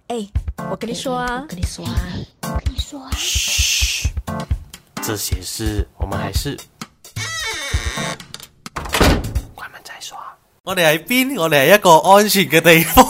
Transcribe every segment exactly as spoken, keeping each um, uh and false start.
哎，我跟你说啊， 我跟你说啊，我跟你说啊， 嘘，这些事我們還是關門再說。我哋喺邊？我哋係一個安全嘅地方。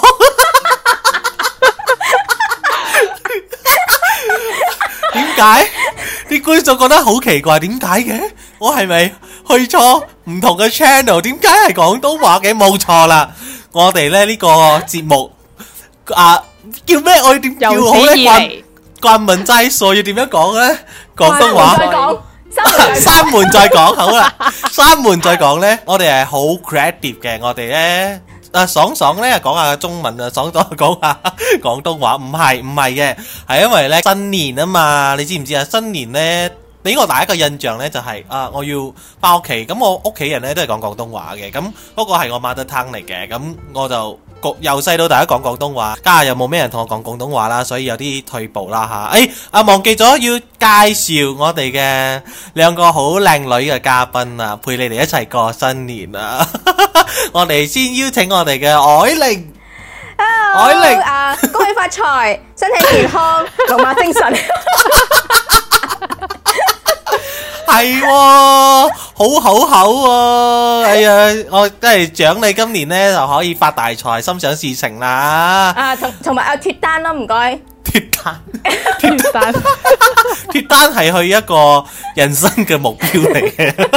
點解啲觀眾覺得好奇怪？點解嘅？我係咪去錯唔同嘅 channel？ 點解係廣東話嘅？冇錯啦，我哋咧呢個節目啊叫咩？我要點叫好咧？關關門再說要點樣講咧？廣東話再講， 三門再講好啦，三門再講咧，我哋係好 creative 嘅，我哋咧。啊，爽爽咧講下中文啊，爽爽講下廣東話，唔係唔係嘅，係因為咧新年啊嘛，你知唔知啊？新年咧俾我第一個印象咧就係、是、啊，我要翻屋企，咁我屋企人咧都係講廣東話嘅，咁嗰個係我 mother tongue嚟嘅，咁我就由細到大都講廣東話，家下又冇咩人同我講廣東話啦，所以有啲退步啦吓。誒啊，忘記咗要介紹我哋嘅兩個好靚女嘅嘉賓啊，陪你哋一齊過新年啊！我哋先邀請我哋嘅藹玲， 藹玲啊，恭喜發財，身體健康，龍馬精神。 係喎，好好口喎！哎呀，我真係獎你今年咧就可以發大財，心想事成啦！ 啊，同同埋啊脫單咯，唔該。 脫單，脫單，脫單係去一個人生嘅目標嚟嘅。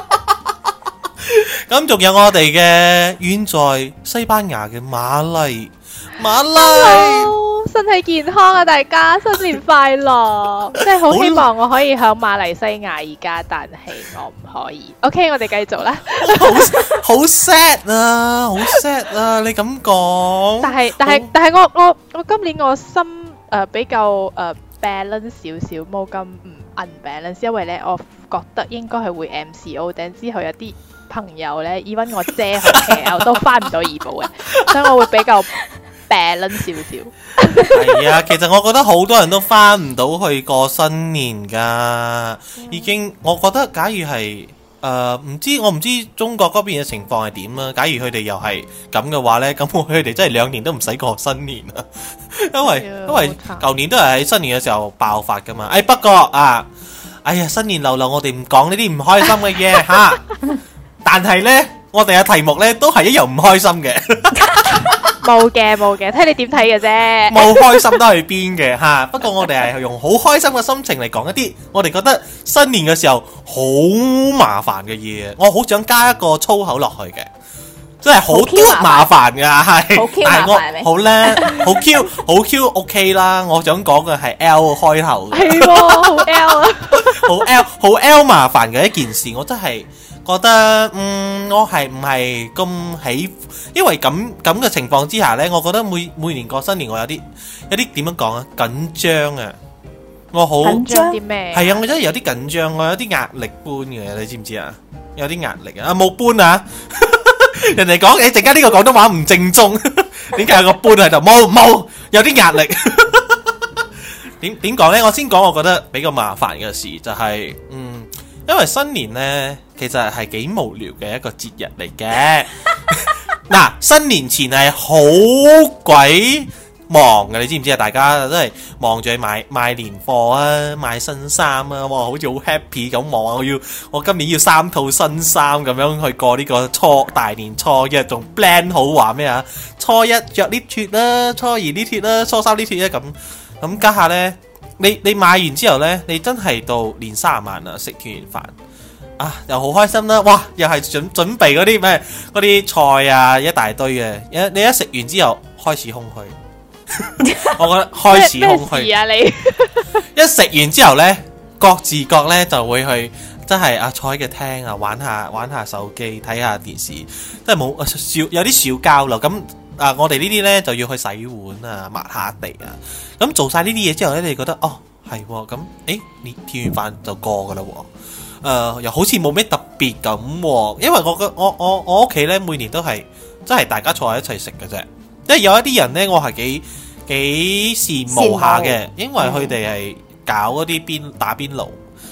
咁仲有我哋嘅遠在西班牙嘅馬麗，馬麗。 身體健康啊！大家新年快樂！即係好希望我可以喺馬來西亞而家，但係我唔可以。OK， 我哋繼續啦。 好好 sad 啊，好 sad 啊！你咁講， 但係但係但係我我我今年我心誒、呃、比較誒、呃、balance 少少，冇咁唔 unbalance，因為咧我覺得應該係會 M C O， 但之後有啲朋友咧 even 我姐去 K L 都翻唔到怡保嘅，所以我會比較balance 少少。 係啊，其實我覺得好多人都翻唔到去過新年噶，已經我覺得假如係誒唔知我唔知中國嗰邊嘅情況係點啦。假如佢哋又係咁嘅話呢，咁佢哋真係兩年都唔使過新年啊，因為因為舊年都係喺新年嘅時候爆發噶嘛。誒、哎、不過啊，哎呀新年流流，我哋唔講呢啲唔開心嘅嘢吓，但係呢，我哋嘅題目呢都係一樣唔開心嘅。 冇嘅冇嘅，睇你點睇嘅啫。 冇開心都係邊嘅吓，不過我哋係用好開心嘅心情嚟講一啲我哋覺得新年嘅時候好麻煩嘅嘢。我好想加一個粗口落去嘅，真係好多麻煩噶，係，但係我好叻，好 Q 好 Q OK 啦。我想講嘅係 L 開頭， 係好 L 啊， 好 L 好 L 麻煩嘅一件事，我真係覺得嗯，我係唔係咁喜。因為咁咁嘅情況之下呢，我覺得每每年過新年我有啲有啲點樣講啊，緊張啊，我好緊張啲咩？ 係啊，我真係有啲緊張，我有啲壓力搬嘅，你知唔知啊？有啲壓力啊，冇搬啊！人哋講誒，陣間呢個廣東話唔正宗，點解有個搬喺度？冇冇，有啲壓力。點點講呢？我先講，我覺得比較麻煩嘅事就係、是，嗯，因為新年呢，其實係幾無聊嘅一個節日嚟嘅。嗱，新年前係好鬼忙嘅，你知唔知啊？大家都係忙住去買買年貨啊，買新衫啊，哇，好似好 happy 咁忙啊！我要我今年要三套新衫咁樣去過呢個初大年初一，仲 plan 好話咩啊？初一着呢脱啦，初二呢脱啦，初三呢脱啦，咁咁家下呢，你你買完之後呢，你真係到年卅晚啦，食團圓飯。啊，又好開心啦！哇，又係準準備嗰啲咩嗰啲菜啊，一大堆嘅。一你一食完之後開始空虛，我覺得開始空虛。咩事啊你？一食完之後呢，各自各呢就會去，真係啊坐喺個廳啊玩下玩下手機，睇下電視，真係冇少有啲小交流。咁啊，我哋呢啲呢就要去洗碗啊，抹下地啊。咁做晒呢啲嘢之後呢，你覺得哦係咁，誒，你團圓飯就過噶啦喎。誒、呃，又好似冇咩特別咁、啊，因為我嘅我我我屋企咧每年都係真係大家坐喺一齊食嘅啫。因為有一啲人咧，我係幾幾羨慕下嘅，因為佢哋係搞嗰啲邊打邊爐，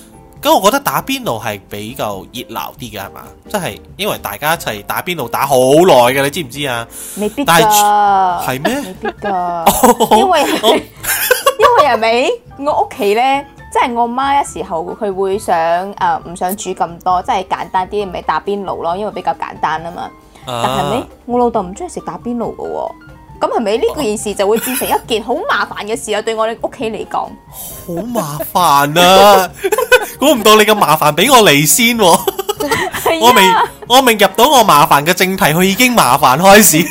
咁我覺得打邊爐係比較熱鬧啲嘅係嘛？即係因為大家一齊打邊爐打好耐嘅，你知唔知啊？ 未必但係㗎， 係咩？ 未必㗎，因為因為係咪我屋企咧，即係我媽有時候佢會想誒唔想煮咁多，即係簡單啲咪打邊爐咯，因為比較簡單啊嘛。但係咪我老豆唔中意食打邊爐嘅喎？咁係咪呢件事就會變成一件好麻煩嘅事啊？對我哋屋企嚟講， 好麻煩啊！估唔到你咁麻煩，俾我嚟先喎。我未我未入到我麻煩嘅正題，佢已經麻煩開始。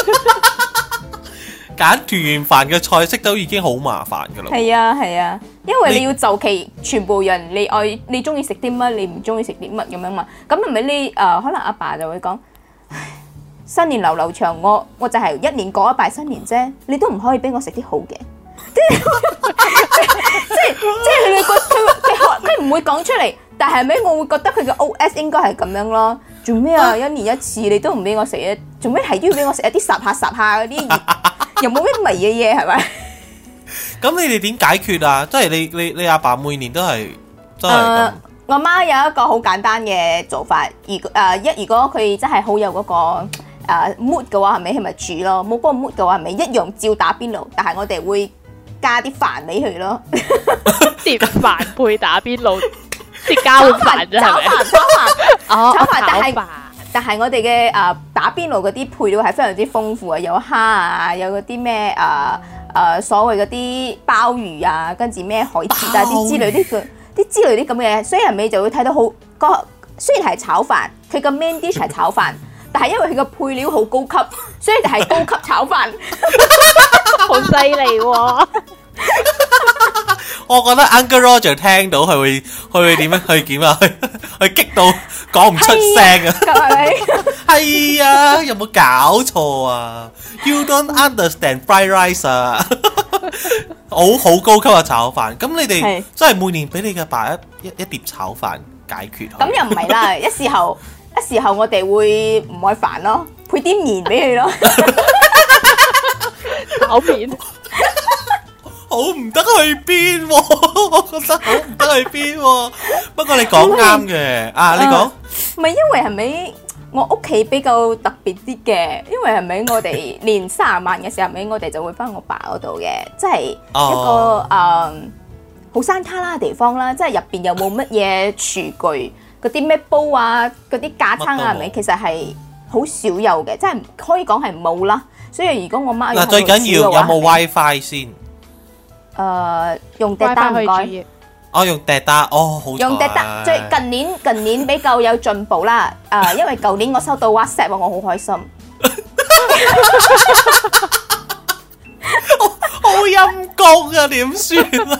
揀團圓飯嘅菜式都已經好麻煩噶啦。 係啊係啊，因為你要就其全部人，你愛你中意食啲乜，你唔中意食啲乜咁樣嘛。咁係咪你誒可能阿爸就會講，新年流流長，我我就係一年過一拜新年啫，你都唔可以俾我食啲好嘅。即係即係即係你會覺佢佢佢唔會講出嚟，但係咪我會覺得佢嘅 O S 應該係咁樣咯。做咩啊？一年一次你都唔俾我食嘅，做咩係都要俾我食一啲霎下霎下嗰啲，又冇咩味嘅嘢係咪？ 咁你哋點解決啊？即係你你你阿爸每年都係都係咁。 我媽有一個好簡單嘅做法，如誒一如果佢真係好有嗰個誒 mood 嘅話，係咪係咪煮咯？冇嗰個 mood 嘅話，係咪一樣照打邊爐？但係我哋會加啲飯俾佢咯， 碟飯配打邊爐，即係交飯啫，係咪？ 炒飯炒飯哦， 炒飯，但係炒飯但係我哋嘅誒打邊爐嗰啲配料係非常之豐富啊，有蝦啊，有嗰啲咩誒誒所謂嗰啲鮑魚啊，跟住咩海蜇啊啲之類啲嘅。啲之類啲咁嘅嘢，所以人尾就會睇到好個，雖然係炒飯，佢個 main dish 係炒飯，但係因為佢個配料好高級，所以就係高級炒飯， 好犀利喎！ 我覺得 Uncle Roger 聽到佢會佢會點樣去點啊？去去激到講唔出聲啊！ 係咪？ 係啊，有冇搞錯啊 ？You don't understand fried rice 啊！好好高級嘅炒飯，咁你哋真係每年俾你嘅爸一一一碟炒飯解決。 咁又唔係啦，一時候一時候我哋會唔愛飯咯，配啲麵俾佢咯， 炒麵。 好唔得去邊喎？我覺得好唔得去邊喎。不過你講啱嘅，啊你講， 唔係因為係咪我屋企比較特別啲嘅？因為係咪我哋年卅萬嘅時候，咪我哋就會翻我爸嗰度嘅，即係一個誒好山卡拉嘅地方啦，即係入邊又冇乜嘢廚具，嗰啲咩煲啊，嗰啲架撐啊，係咪其實係好少有嘅，即係可以講係冇啦。所以如果我媽嗱，最緊要有冇 WiFi 先？ 誒，用滴單唔該。 我用滴單，哦好。 用滴單，最近年近年比較有進步啦。誒，因為舊年我收到 WhatsApp，我好開心。 好陰公啊，點算啊？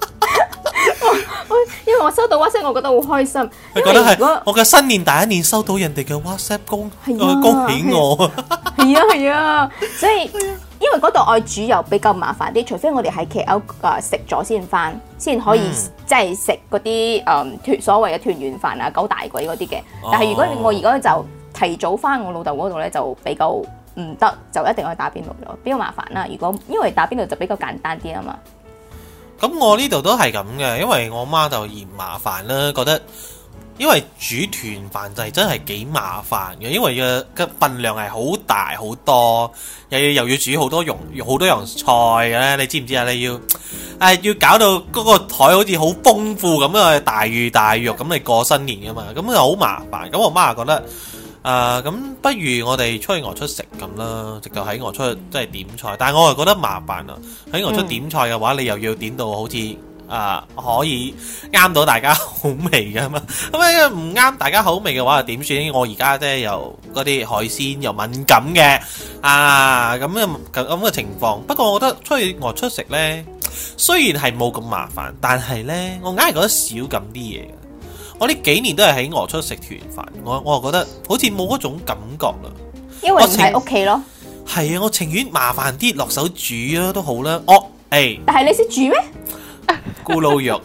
因為我收到 WhatsApp，我覺得好開心。 你覺得係我嘅新年第一年收到人哋嘅 WhatsApp 恭恭喜我啊！ 係啊係啊，所以因為嗰度愛煮又比較麻煩啲，除非我哋喺 K L 誒食咗先翻，先可以即係食嗰啲誒團所謂嘅團圓飯啊、九大簋嗰啲嘅。但係如果我而家就提早翻我老豆嗰度咧，就比較唔得，就一定要去打邊爐咯，比較麻煩啦。如果因為打邊爐就比較簡單啲啊嘛。 咁我呢度都係咁嘅，因為我媽就嫌麻煩啦，覺得因為煮團飯就係真係幾麻煩嘅，因為嘅嘅份量係好大好多，又要又要煮好多用好多樣菜嘅咧，你知唔知啊？你要誒、啊、要搞到嗰個台好似好豐富咁啊，大魚大肉咁你過新年噶嘛，咁就好麻煩。咁我媽就覺得。誒咁、呃，不如我哋出去外出食咁啦，直到喺外出即係點菜。但係我係覺得麻煩啊！喺外出點菜嘅話，你又要點到好似誒、呃、可以啱到大家口味嘅嘛。咁樣唔啱大家口味嘅話，又點算？我而家即係又嗰啲海鮮又敏感嘅啊，咁嘅咁嘅情況。不過我覺得出去外出食呢，雖然係冇咁麻煩，但係呢，我硬係覺得少咁啲嘢。我呢幾年都係喺外出食團飯，我我又覺得好似冇嗰種感覺啦。 因為唔喺屋企咯。 係啊，我情願麻煩啲落手煮啊都好啦。哦，誒、欸， 但係你識煮咩？ 咕嚕肉，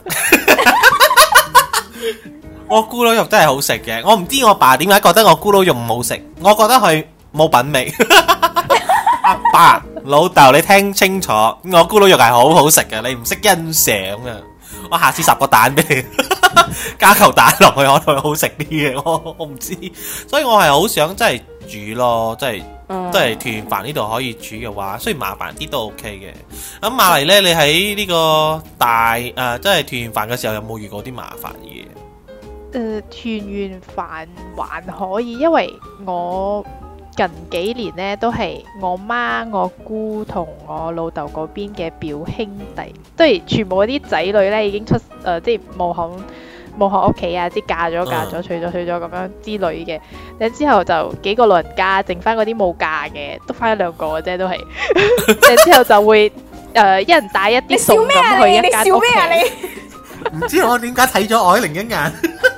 我咕嚕肉真係好食嘅。我唔知我爸點解覺得我咕嚕肉唔好食，我覺得佢冇品味。阿爸、老豆，你聽清楚，我咕嚕肉係好好食嘅，你唔識欣賞啊！我下次烚個蛋俾你。 加嚿蛋落去可能會好食啲嘅，我我唔知，所以我係好想真係煮咯，即係即係團圓飯呢度可以煮嘅話，雖然麻煩啲都 OK 嘅。咁馬嚟呢，你喺呢個大誒、呃，即係團圓飯嘅時候有冇遇過啲麻煩嘢？ 誒、呃，團圓飯還可以，因為我近幾年呢都係我媽、我姑同我老豆嗰邊嘅表兄弟，即係全部嗰啲仔女呢已經出誒、呃，即係冇響冇響屋企啊，即係嫁咗嫁咗，娶咗娶咗咁樣之類嘅。然之後就幾個老人家，剩翻嗰啲冇嫁嘅，得翻一兩個嘅啫，都係。然之後就會誒、呃，一人帶一啲餸咁去一間屋企。 唔知我點解睇咗我另一眼？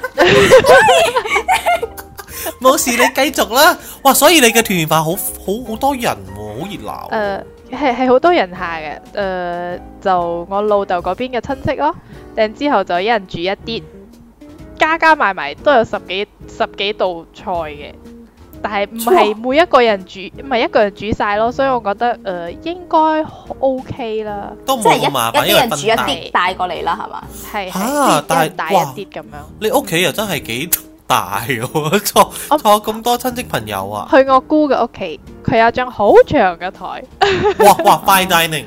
冇事，你繼續啦。哇，所以你嘅團圓飯好好好多人喎，好熱鬧。 誒，係係好多人下嘅。誒、呃，就我老豆嗰邊嘅親戚咯。然之後就一人煮一啲，加加埋埋都有十幾十幾道菜嘅。但係唔係每一個人煮，唔係一個人煮晒咯。所以我覺得誒、呃、應該 OK 啦。 都冇咁麻煩， 一啲人煮一啲帶過嚟啦，係嘛？ 係係， 啊，但係帶一啲咁樣。 你屋企又真係幾大喎，坐坐咁多親戚朋友啊！ 去我姑嘅屋企，佢有張好長嘅台。 哇哇 ，fine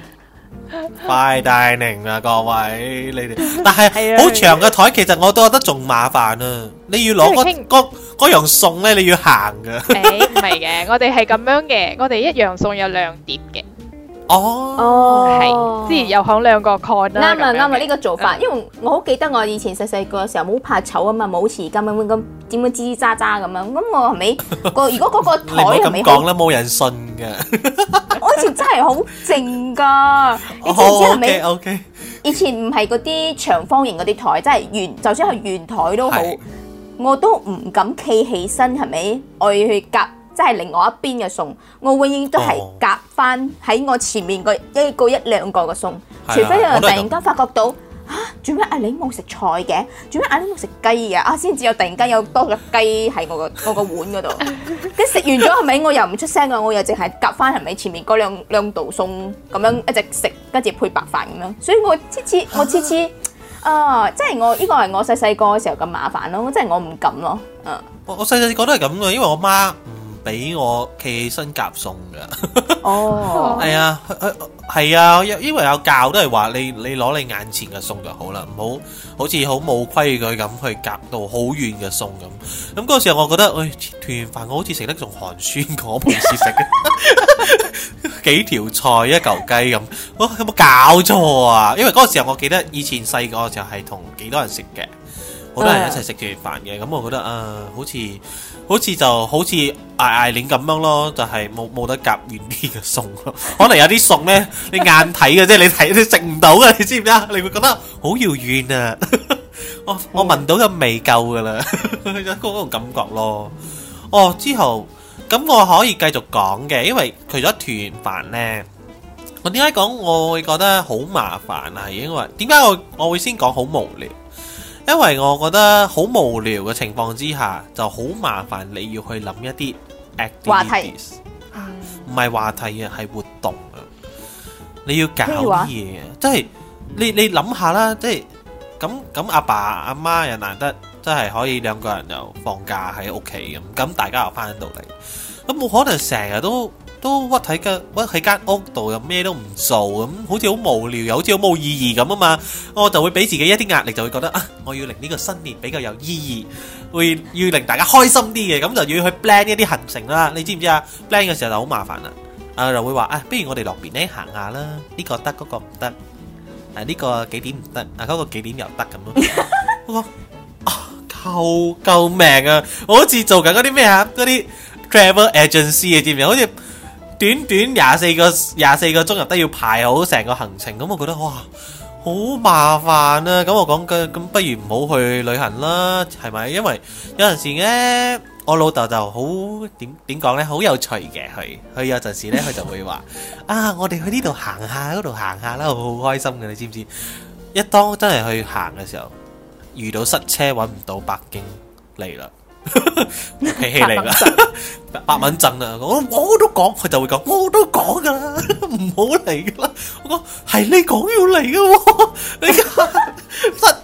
dining，fine dining 啊，各位你哋，但係好長嘅台，其實我都覺得仲麻煩啊！你要攞嗰嗰嗰樣餸咧，你要行噶。 誒，唔係嘅，我哋係咁樣嘅，我哋一樣餸有兩碟嘅。 哦， 係，之前又響兩個 con 啦。 啱啊啱啊，呢個做法，因為我好記得我以前細細個嘅時候冇怕醜啊嘛，冇匙羹咁咁點樣吱吱喳喳咁樣，咁我係咪個如果嗰個台係咪咁講啦，冇人信嘅。 我以前真係好靜噶，你知唔知係咪 ？O K， 以前唔係嗰啲長方形嗰啲台，即係圓，就算係圓台都好，我都唔敢企起身，係咪？我要去夾。即係另外一邊嘅餸，我永遠都係夾翻喺我前面個一個一兩個嘅餸，除非有人突然間發覺到嚇，做咩阿玲冇食菜嘅？做咩阿玲冇食雞嘅？啊，先至有突然間有多個雞喺我個我個碗嗰度。跟食完咗係咪？我又唔出聲嘅，我又淨係夾翻係咪前面嗰兩兩道餸咁樣一直食，跟住配白飯咁樣。所以我次次我次次啊，即係我呢個係我細細個嘅時候咁麻煩咯，即係我唔敢咯。嗯， 我我細細個都係咁嘅，因為我媽。俾我企起身夾餸噶， 哦， 係啊，係啊，因為有教都係話你你攞你眼前嘅餸就好啦，唔好好似好冇規矩咁去夾到好遠嘅餸咁。咁嗰時候我覺得，誒、哎，團圓飯我好似食得仲寒酸過，我平時食嘅幾條菜一嚿雞咁，我、哦、有冇搞錯啊？因為嗰個時候我記得以前細個嘅時候係同幾多人食嘅，好多人一齊食團圓飯嘅，咁我覺得啊，好似。好似就好似嗌嗌鏈咁樣咯，就係冇冇得夾遠啲嘅餸咯。可能有啲餸咧，你眼睇嘅啫，你睇你食唔到嘅，你知唔知啊？你會覺得好遙遠啊！我我聞到嘅味夠噶啦，嗰種感覺咯。哦，之後咁我可以繼續講嘅，因為除咗團圓飯咧，我點解講我會覺得好麻煩啊？係因為點解我我會先講好無聊？因為我覺得好無聊嘅情況之下，就好麻煩。你要去諗一啲 activities，唔係話題啊，係活動啊。你要搞啲嘢啊，即係你你諗下啦，即係咁咁阿爸阿媽又難得，真係可以兩個人又放假喺屋企咁，咁大家又翻到嚟，咁冇可能成日都。都屈喺間屈喺間屋度，又咩都唔做咁，好似好無聊，又好似好冇意義咁啊嘛！我就會俾自己一啲壓力，就會覺得啊，我要令呢個新年比較有意義，會要令大家開心啲嘅，咁就要去 plan 一啲行程啦。你知唔知啊 ？plan 嘅時候就好麻煩啦，啊就會話啊，不如我哋落邊咧行下啦，呢個得，嗰個唔得，啊呢個幾點唔得，啊嗰個幾點又得咁咯。我講啊，救救命啊！我好似做緊嗰啲咩啊，嗰啲 travel agency 啊，知唔知？好似短短廿四個廿四個鐘入都要排好成個行程，咁我覺得哇好麻煩啊！咁我講嘅咁不如唔好去旅行啦，係咪？因為有陣時咧，我老豆就好點點講咧，好有趣嘅佢，佢有陣時咧佢就會話啊，我哋去呢度行下，嗰度行下啦，好開心嘅，你知唔知？一當真係去行嘅時候，遇到塞車揾唔到北京嚟啦。脾氣嚟啦，百蚊震啊！我我都講，佢就會講，我都講噶啦，唔好嚟噶啦。我講係你講要嚟噶，你塞塞啲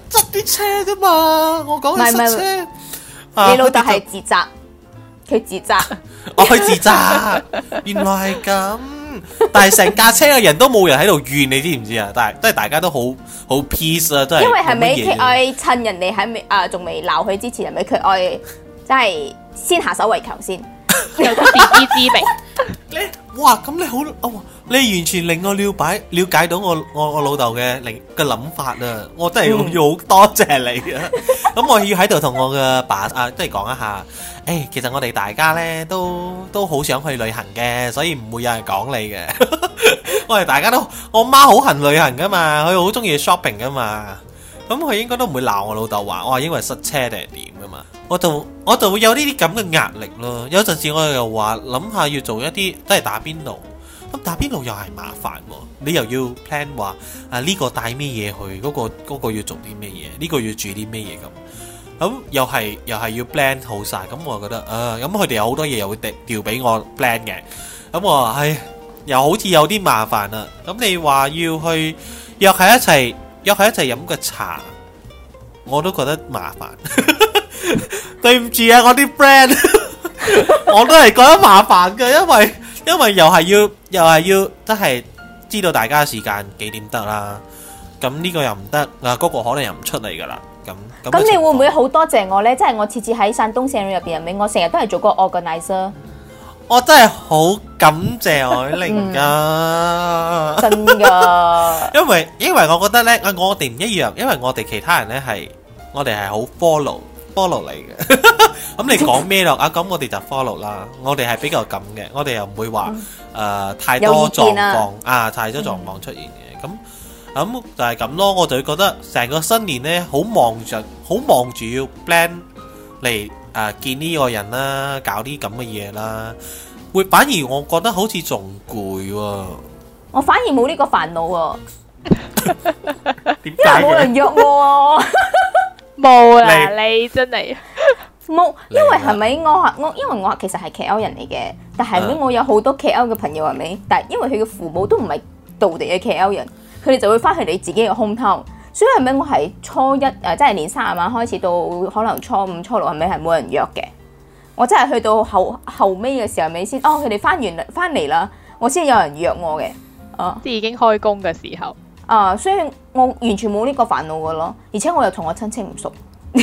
車啫嘛，我講係塞車。 你老豆係自責，佢自責， 我去自責，原來係咁。但係成架車嘅人都冇人喺度怨，你知唔知啊？但係都係大家都好好 peace 啊，真係。 因為係咪佢愛趁人哋喺未啊仲未鬧佢之前，係咪佢愛即係先下手為強先， 有個自知之明。 你哇咁你好哦，你完全令我了解了解到我我我老豆嘅另嘅諗法啊！我真係要好多謝你啊！咁我要喺度同我嘅爸啊，即係講一下。誒，其實我哋大家咧都都好想去旅行嘅，所以唔會有人講你嘅。我哋大家都，我媽好恨旅行噶嘛，佢好中意 shopping 噶嘛。咁佢應該都唔會鬧我老豆話，我話因為塞車定係點噶嘛。我就我就會有呢啲咁嘅壓力咯。有陣時我又話諗下要做一啲都係打邊爐，咁打邊爐又係麻煩喎。你又要 plan 話啊呢個帶咩嘢去，嗰個嗰個要做啲咩嘢，呢個要煮啲咩嘢咁。咁又係又係要 plan 好晒，咁我覺得啊，咁佢哋有好多嘢又會調俾我 plan 嘅，咁我話唉，又好似有啲麻煩啦。咁你話要去約喺一齊約喺一齊飲個茶，我都覺得麻煩。對唔住啊，我啲 friend， 我都係覺得麻煩嘅，因為因為又係要又係要真係知道大家時間幾點得啦。咁呢個又唔得啊，嗰個可能又唔出嚟噶啦。咁咁你會唔會好多謝我呢？即係我次次喺山東省入邊入面，我成日都係做個 organizer。 我真係好感謝海玲噶， 真噶。 因為因為我覺得呢，我哋唔一樣，因為我哋其他人呢係我哋係好 follow follow 嚟嘅。咁你講咩咯？啊，咁我哋就 follow 啦。我哋係比較咁嘅，我哋又唔會話誒太多狀況啊，太多狀況出現嘅咁。咁、嗯、就係咁咯，我就會覺得成個新年呢，好忙着，好忙住要 plan 嚟誒見呢個人啦，搞啲咁嘅嘢啦，會反而我覺得好似仲攰喎。 我反而冇呢個煩惱喎， 點解嘅？因為冇人約我。 冇啦，你真係冇，因為係咪我我因為我其實係 K L 人嚟嘅，但係咧我有好多 K L 嘅朋友係咪？但係因為佢嘅父母都唔係道地嘅 K L 人。佢哋就會翻去你自己嘅 hometown，所以係咪我係初一誒，即係年卅晚開始到可能初五、初六係咪係冇人約嘅？我真係去到後後尾嘅時候咪先，哦佢哋翻完翻嚟啦，我先有人約我嘅，啊， 即係已經開工嘅時候， 啊，所以我完全冇呢個煩惱嘅咯，而且我又同我親戚唔熟，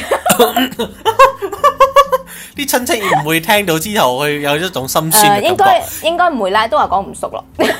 啲親戚唔會聽到之後佢有一種心酸嘅感覺。 應該應該唔會啦，都話講唔熟咯。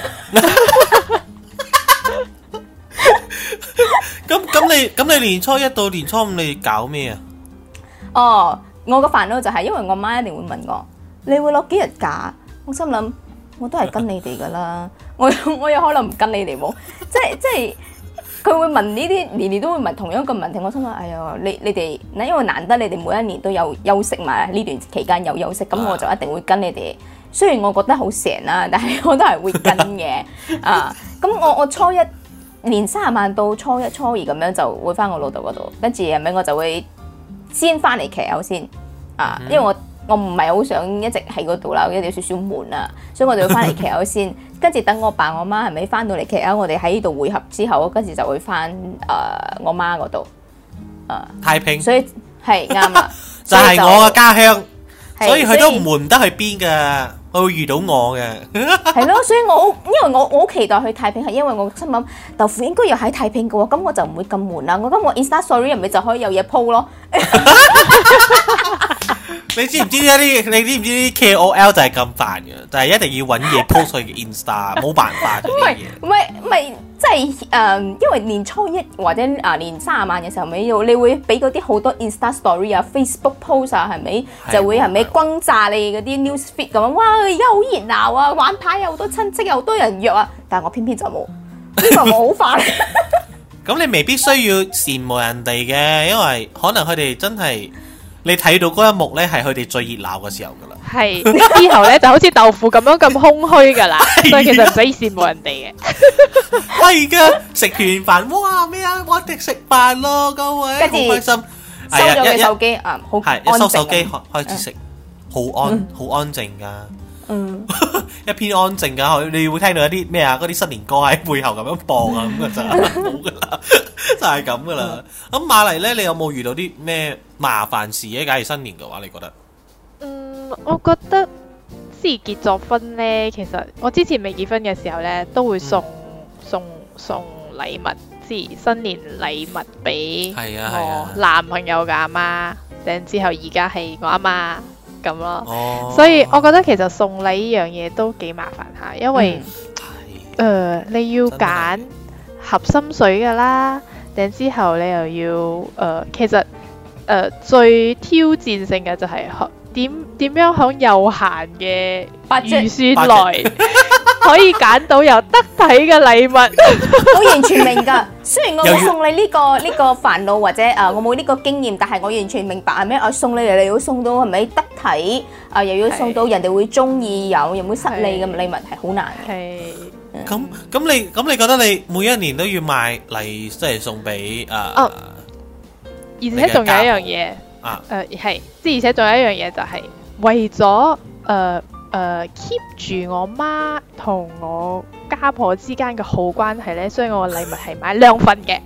咁咁你咁你年初一到年初五你搞咩啊？ 哦，我個煩惱就係因為我媽一定會問我，你會攞幾日假？我心諗我都係跟你哋噶啦，我我有可能唔跟你哋冇，即係即係佢會問呢啲年年都會問同樣一個問題，我心諗哎呀你你哋，因為難得你哋每一年都有休息嘛，呢段期間有休息，咁我就一定會跟你哋。雖然我覺得好成啦，但係我都係會跟嘅啊。咁我我初一。年卅晚到初一、初二咁樣就會翻我老豆嗰度，跟住係咪我就會先翻嚟 K L 先啊，因為我我唔係好想一直喺嗰度啦，有少少悶啊，所以我就會翻嚟 K L 先，跟住等我爸我媽係咪翻到嚟 K L，我哋喺呢度會合之後，跟住就會翻誒、呃、我媽嗰度啊太平， 所以係啱啦， 就係我嘅家鄉，所以佢都唔悶唔得去邊㗎。佢會遇到我嘅， 係咯，所以我因為我我好期待去太平，係因為我心諗豆腐應該又喺太平嘅喎，咁我就唔會咁悶啦。我咁我 Insta Story 入面就可以有嘢 po 咯。 你知唔知一啲？你知唔知啲 K O L 就係咁煩嘅，就係、是、一定要揾嘢 post 佢嘅 Insta， 冇辦法嘅啲嘢。 唔係唔係，即係誒，因為年初一或者啊年卅晚嘅時候，咪要你會俾嗰啲好多 Insta Story 啊、Facebook post 啊，係咪就會係咪轟炸你嗰啲 news feed 咁樣？哇！而家好熱鬧啊，玩牌有好多親戚，有好多人約啊，但係我偏偏就冇，呢個我好煩。 咁你未必需要羨慕人哋嘅，因為可能佢哋真係。你睇到嗰一幕咧，係佢哋最熱鬧嘅時候噶啦。係之後咧就好似豆腐咁樣咁空虛噶啦，所以其實唔使羨慕人哋嘅。 係噶，食完飯，哇咩啊，我哋食飯咯，各位，好開心。 收咗佢手機啊，好係一收手機開開始食，好安好安靜噶。嗯， 一片安靜㗎，你會聽到一啲咩啊？嗰啲新年歌喺背後咁樣播啊，咁就冇㗎啦，就係咁㗎啦。咁馬麗咧，你有冇遇到啲咩麻煩事咧？假如新年嘅話，你覺得？ 嗯，我覺得即係結咗婚呢，其實我之前未結婚嘅時候呢，都會送、嗯、送送禮物，即係新年禮物俾我男朋友嘅阿媽，然之後而家係我阿媽咁咯。哦、所以我覺得其實送禮呢樣嘢都幾麻煩下，因為誒、嗯呃、你要揀合心水㗎啦，然之後你又要誒、呃、其實誒、呃、最挑戰性嘅就係、是。點點樣響有限嘅預算內可以揀到又得體嘅禮物？ 我完全明㗎。雖然我冇送你呢個呢個煩惱或者誒我冇呢個經驗，但係我完全明白係咩？我送你嚟，你要送到係咪得體？啊，又要送到人哋會中意，有又唔會失禮嘅禮物係好難嘅。 係。 咁咁你咁你覺得你每一年都要買禮，即係送俾誒？哦。 而且仲有一樣嘢。啊，誒係，即而且仲有一樣嘢就係為咗誒誒 keep 住我媽同我家婆之間嘅好關係咧，所以我嘅禮物係買兩份嘅。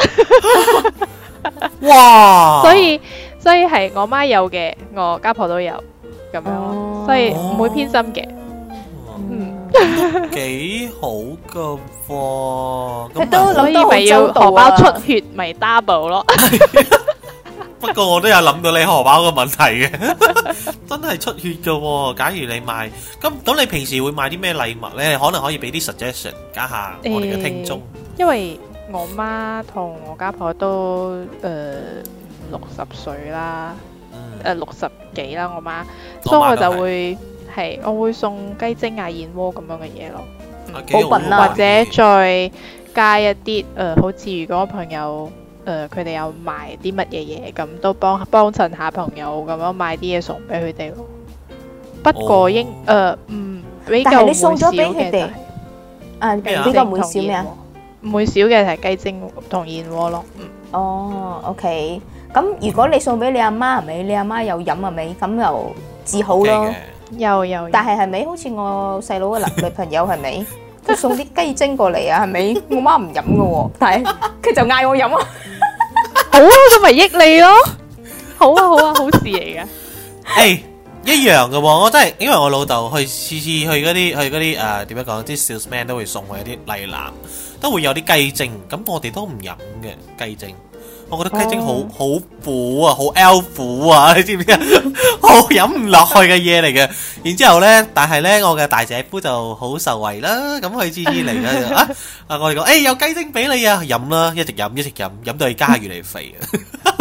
哇！所以所以係我媽有嘅，我家婆都有咁樣，哦、所以唔會偏心嘅。哦、嗯， 幾好㗎喎！ 佢都所以咪要荷包出血咪 double 咯。 不過我都有諗到你荷包嘅問題嘅，真係出血㗎喎。假如你買咁咁，你平時會買啲咩禮物咧？可能可以俾啲 suggestion 加下我哋嘅聽眾。 因為我媽同我家婆都誒六十歲啦，誒六十幾啦，我媽，所以我就會係我會送雞精啊、燕窩咁樣嘅嘢咯， 補品啦， 或者再加一啲誒，好似如果朋友。誒佢哋有賣啲乜嘢嘢，咁都幫幫襯下朋友咁樣買啲嘢送俾佢哋咯。不過應誒唔比較會少嘅就係誒比較會少咩啊？ 唔會少嘅係雞精同燕窩咯。嗯。 哦 ，OK。咁如果你送俾你阿媽係咪？你阿媽有飲係咪？咁又至好咯。 有有。 但係係咪好似我細佬嘅男女朋友係咪？佢送啲雞精過嚟啊，係咪？我媽唔飲嘅喎，但係佢就嗌我飲啊。 好啊，咁咪益你咯。好啊，好啊，好事嚟嘅。 誒，一樣嘅喎，我真係因為我老豆去次次去嗰啲去嗰啲誒點樣講，啲 salesman 都會送我一啲禮籃，都會有啲雞精。咁我哋都唔飲嘅雞精。我覺得雞精好好苦啊，好 L 苦啊，你知唔知啊？好飲唔落去嘅嘢嚟嘅。然之後咧，但係咧，我嘅大姐夫就好受惠啦。咁佢次次嚟嘅啊，啊我哋講，誒有雞精俾你啊，飲啦，一直飲一直飲，飲到佢家下越嚟越肥啊。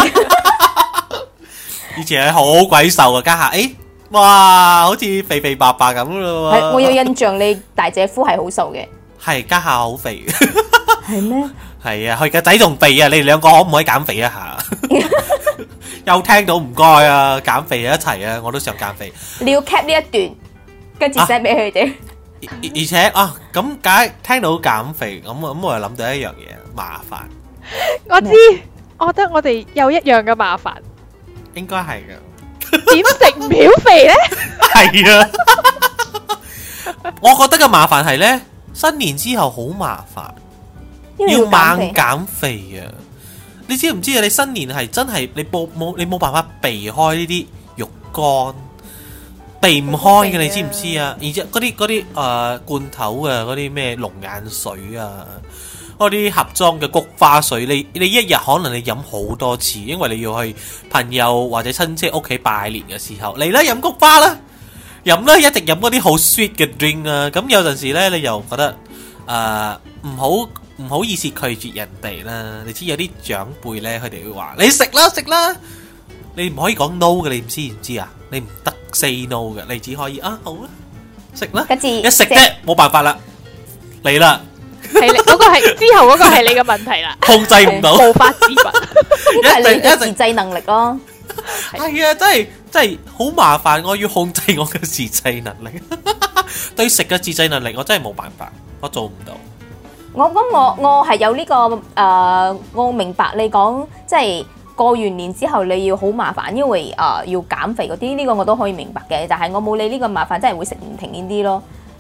以前係好鬼瘦嘅家下，誒哇，好似肥肥白白咁咯。 係，我有印象你大姐夫係好瘦嘅。 係家下好肥。 係咩？ 係啊，佢個仔仲肥啊！你哋兩個可唔可以減肥一下？又聽到唔該啊，減肥一齊啊！我都想減肥。 你要 cap 呢一段，跟住 send 俾佢哋。 而且啊，咁解聽到減肥，咁咁我又諗到一樣嘢，麻煩。 我知，我覺得我哋有一樣嘅麻煩。 應該係嘅。 點食唔曉肥咧？ 係啊。我覺得嘅麻煩係咧，新年之後好麻煩。要猛減肥啊！你知唔知啊？你新年係真係你冇冇你冇辦法避開呢啲肉乾，避唔開嘅，你知唔知啊？而且嗰啲嗰啲誒罐頭啊，嗰啲咩龍眼水啊，嗰啲盒裝嘅菊花水，你你一日可能你飲好多次，因為你要去朋友或者親戚屋企拜年嘅時候嚟啦，飲菊花啦，飲啦，一直飲嗰啲好 sweet 嘅 drink 啊！咁有陣時咧，你又覺得誒唔好。唔好意思拒絕人哋啦，你知有啲長輩咧，佢哋會話你食啦食啦，你唔可以講 no 嘅，你唔知唔知啊？你唔得 say no 嘅，你只可以啊好啦，食啦，一食啫，冇辦法啦，嚟啦， 係你嗰個係之後嗰個係你嘅問題啦， 控制唔到， 無法自拔， 呢個係你嘅自制能力咯。 係啊，真係真係好麻煩，我要控制我嘅自制能力，對食嘅自制能力我真係冇辦法，我做唔到。 我咁我我係有呢個誒，我明白你講，即係過完年之後你要好麻煩，因為誒要減肥嗰啲，呢個我都可以明白嘅。但係我冇你呢個麻煩，真係會食唔停呢啲咯。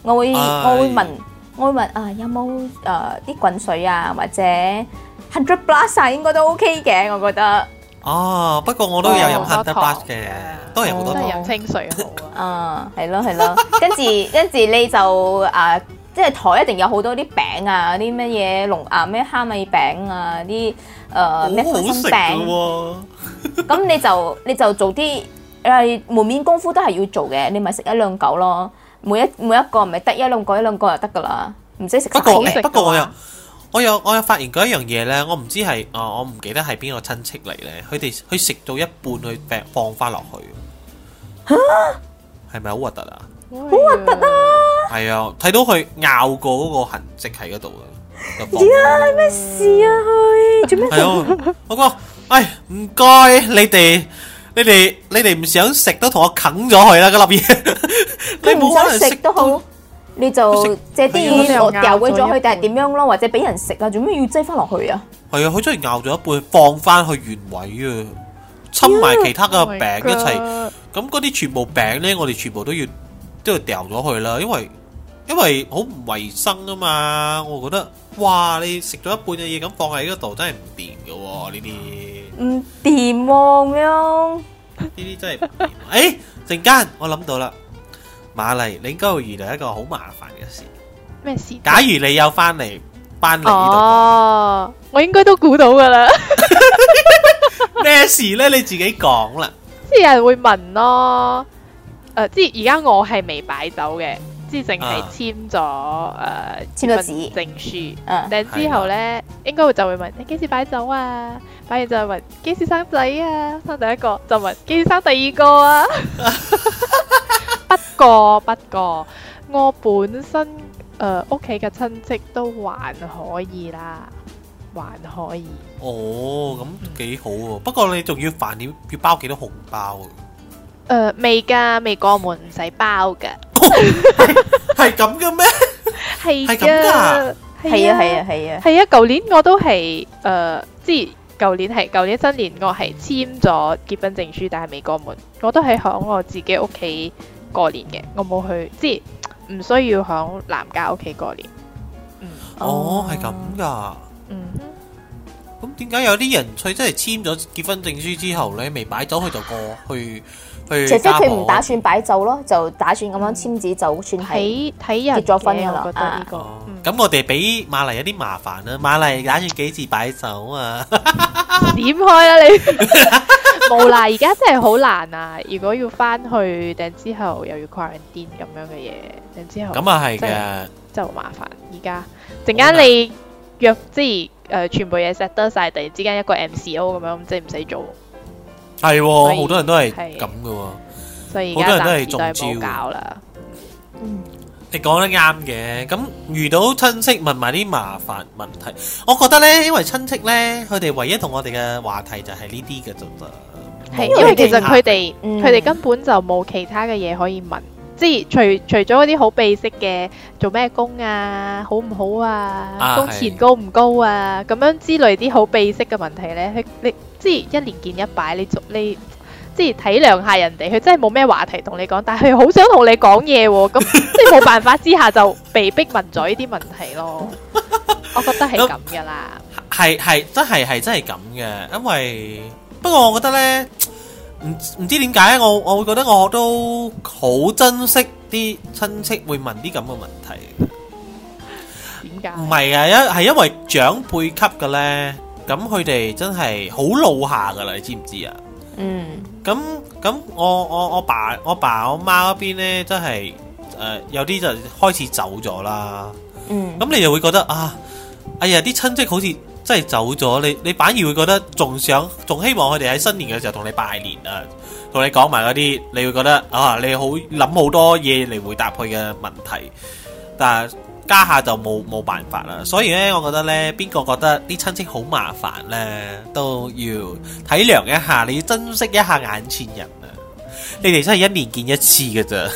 我會唉我會問我會問啊有冇誒啲滾水啊或者 hundred plus 啊應該都 OK 嘅，我覺得。 哦，不過我都有飲哦好 Hundred 多糖 Plus 嘅，都係好多糖。 都係飲清水好啊。 啊，係咯係咯，跟住跟住你就啊，即係台一定有好多啲餅啊，啲乜嘢龍啊咩蝦米餅啊，啲誒咩好好花生食嘅餅， 喎。 咁你就你就做啲誒門面功夫都係要做嘅，你咪食一兩嚿咯，每一每一個咪得一兩個一兩個就得噶啦，唔使食不過晒嘅。 不過我又我有我有發現過一樣嘢咧，我唔知係啊，我唔記得係邊個親戚嚟咧，佢哋佢食到一半佢放放翻落去，係咪好核突啊？ 好核突啊！ 係啊，睇到佢咬過嗰個痕跡喺嗰度啊！ 呀，咩事啊佢？做咩？ 係啊，我講，唉，唔該，你哋你哋你哋唔想食都同我啃咗佢啦，嗰粒嘢，你佢唔想冇可能食都好，你就借啲係啊嘢我掉鬼咗佢，定係點樣咯？或者俾人食啊？做咩要擠翻落去啊？ 係啊，佢真係咬咗一半，放翻去原位啊，侵埋其他嘅 Oh my 餅一齊。 God 咁嗰啲全部餅咧，我哋全部都要都要掉咗佢啦，因為因為好唔衞生啊嘛。我覺得哇，你食咗一半嘅嘢咁放喺嗰度，真係唔掂嘅喎。呢啲唔掂喎咁樣。 呢啲真係唔掂。誒，陣間我諗到啦，瑪麗，你應該會遇到一個好麻煩嘅事。 咩事？ 假如你有翻嚟翻嚟呢哦，我應該都估到噶啦。 度，咩事咧？你自己講啦。 即係有人會問咯，誒、即係而家我係未擺酒嘅，即係淨係簽咗誒簽咗紙證書。 嗯， 但之後咧，應該會就會問你幾時擺酒啊？擺完就問幾時生仔啊？生第一個就問幾時生第二個啊？不過不過，我本身誒屋企嘅親戚都還可以啦，還可以。 哦，咁幾好喎。不過你仲要飯點要包幾多紅包啊？ 誒未㗎，未過門唔使包㗎。 係咁嘅咩？ 係係咁㗎㗎， 係啊係啊係啊。 係啊！舊年我都係誒，即係舊年係舊年新年我係簽咗結婚證書，但係未過門。我都係響我自己屋企過年嘅，我冇去，即係唔需要響男家屋企過年。嗯哦，係咁㗎。 嗯哼， 咁點解有啲人佢真係簽咗結婚證書之後咧，未擺酒佢就過去去除非家婆佢唔打算擺酒咯，就打算咁樣簽紙就算係。 睇睇人結咗婚㗎嘅， 啦我覺得呢個。 哦嗯咁我哋俾瑪麗有啲麻煩啦。瑪麗打算幾時擺酒啊？ 點開啦你？冇啦，而家真係好難啊！如果要翻去，定之後又要 quarantine 咁樣嘅嘢，定之後咁啊係真係嘅。 真係好麻煩。而家陣間你約即係誒全部嘢 set 得晒，突然之間一個 M C O 咁樣，即係唔使做， 係所以喎，好多人都係係咁嘅喎。 所以而家好多人都係暫時都係中招冇搞啦。 嗯， 你講得啱嘅，咁遇到親戚問埋啲麻煩問題，我覺得呢，因為親戚呢，佢哋唯一同我哋嘅話題就係呢啲嘅啫噃。 係冇因為其實其他佢哋嗯佢哋根本就冇其他嘅嘢可以問，即係除除咗嗰啲好秘式嘅做咩工啊，好唔好啊， 啊工錢高唔高啊，咁樣之類啲好秘式嘅問題呢，佢你即係一年見一擺，你做你。即係體諒下人哋，佢真係冇咩話題同你講，但係佢好想同你講嘢喎，咁即係冇辦法之下就被逼問咗呢啲問題咯。我覺得係咁噶啦。 係係真係係真係咁嘅，因為不過我覺得呢，唔唔知點解我我會覺得我都好珍惜啲親戚會問啲咁嘅問題。 點解？ 唔係啊，因係因為長輩級嘅呢，咁佢哋真係好老下噶啦，你知唔知啊？ 嗯， 咁咁我我我爸我爸我媽嗰邊呢，真係誒、呃、有啲就開始走咗啦。 嗯， 咁你就會覺得啊，哎呀啲親戚好似真係走咗，你你反而會覺得仲想仲希望佢哋喺新年嘅時候同你拜年啊，同你講埋嗰啲，你會覺得啊你好諗好多嘢嚟回答佢嘅問題，但係家下就冇冇辦法啦。所以咧，我覺得咧，邊個覺得啲親戚好麻煩咧，都要體諒一下，你要珍惜一下眼前人啊！你哋真係一年見一次嘅咋。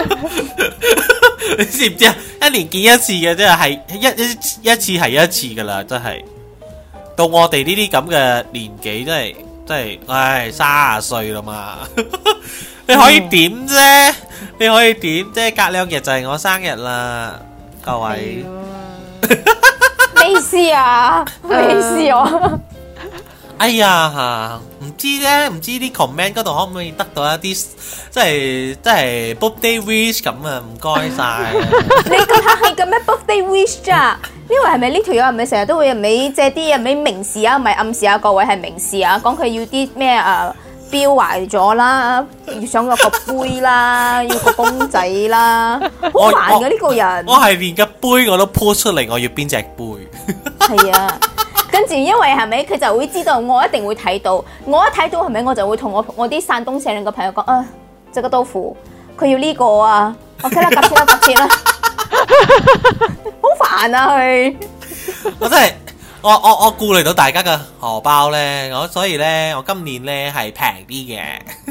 你知唔知啊？一年見一次嘅，真係係一一一次係一次噶啦，真係。到我哋呢啲咁嘅年紀，真係真係，唉，卅歲啦嘛， 你可以點啫？你可以點啫？隔兩日就係我生日啦，各位。 咩意思啊？咩意思啊？ 哎呀，唔知咧，唔知啲 comment 嗰度可唔可以得到一啲，即係即係 birthday wish 咁啊？唔該晒。 你咁客氣嘅咩 birthday wish 咋？呢位係咪呢條友係咪成日都會係咪借啲係咪明示啊？唔係暗示啊？各位係明示啊？講佢要啲咩啊？標壞咗啦，要想有個杯啦，要個公仔啦，好煩嘅呢個人。 我係連個杯我都 po 出嚟，我要邊隻杯？ 係啊。跟住，因為係咪佢就會知道我一定會睇到，我一睇到係咪我就會同我我啲山東社兩個朋友講啊，這個豆腐佢要呢個啊 ，OK 啦，夾錢啦，夾錢啦，好煩啊佢。 我真係我我我顧慮到大家嘅荷包咧，我所以咧我今年咧係平啲嘅，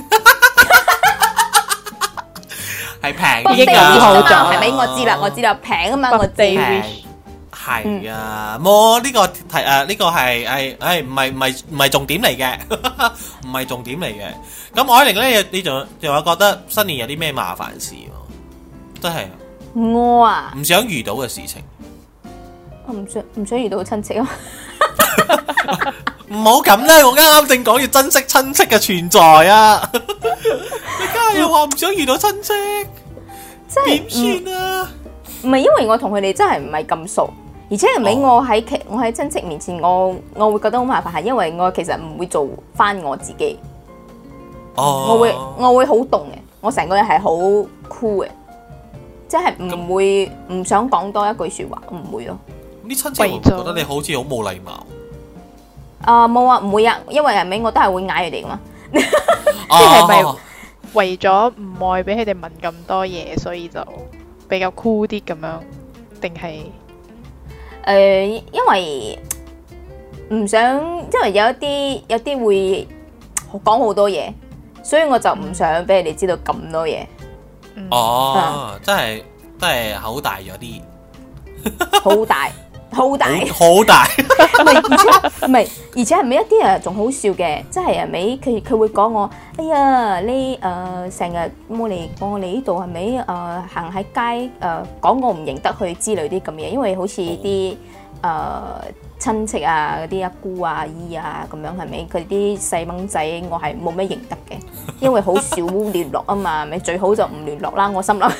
係平啲㗎， 係咪？我知啦，我知啦，平啊嘛，我知。 係啊，冇呢個題誒，呢個係係誒，唔係唔係唔係重點嚟嘅，唔係重點嚟嘅。咁海玲咧，你仲仲有覺得新年有啲咩麻煩事？真係我啊， 唔想遇到嘅事情。 我唔想唔想遇到親戚啊！ 唔好咁咧，我啱啱正講要珍惜親戚嘅存在啊！你家下又話唔想遇到親戚，點算啊？ 唔係因為我同佢哋真係唔係咁熟。而且係咪我喺其我喺親戚面前，我我會覺得好麻煩，係因為我其實唔會做翻我自己。 哦， 我會我會好凍嘅，我成個人係好 cool 嘅，即係唔會唔想講多一句説話，唔會咯。 啲親戚會唔會覺得你好似好冇禮貌？ 啊冇啊，唔會啊，因為係咪我都係會嗌佢哋噶嘛。 即係咪為咗唔愛俾佢哋問咁多嘢，所以就比較 cool 啲咁樣，定係？ 誒、呃，因為唔想，因為有一啲有啲會講好多嘢，所以我就唔想俾你哋知道咁多嘢。 哦，嗯、真係真係口大咗啲， 好大好大好大， 唔係而且唔係而且係咪一啲啊仲好笑嘅，即係係咪佢佢會講我，哎呀你誒成日冇嚟過我哋呢度係咪誒行喺街誒講我唔認得佢之類啲咁嘢，因為好似啲誒親戚啊嗰啲阿姑啊阿姨啊咁樣係咪佢啲細蚊仔我係冇咩認得嘅，因為好少聯絡啊嘛，咪最好就唔聯絡啦，我心諗。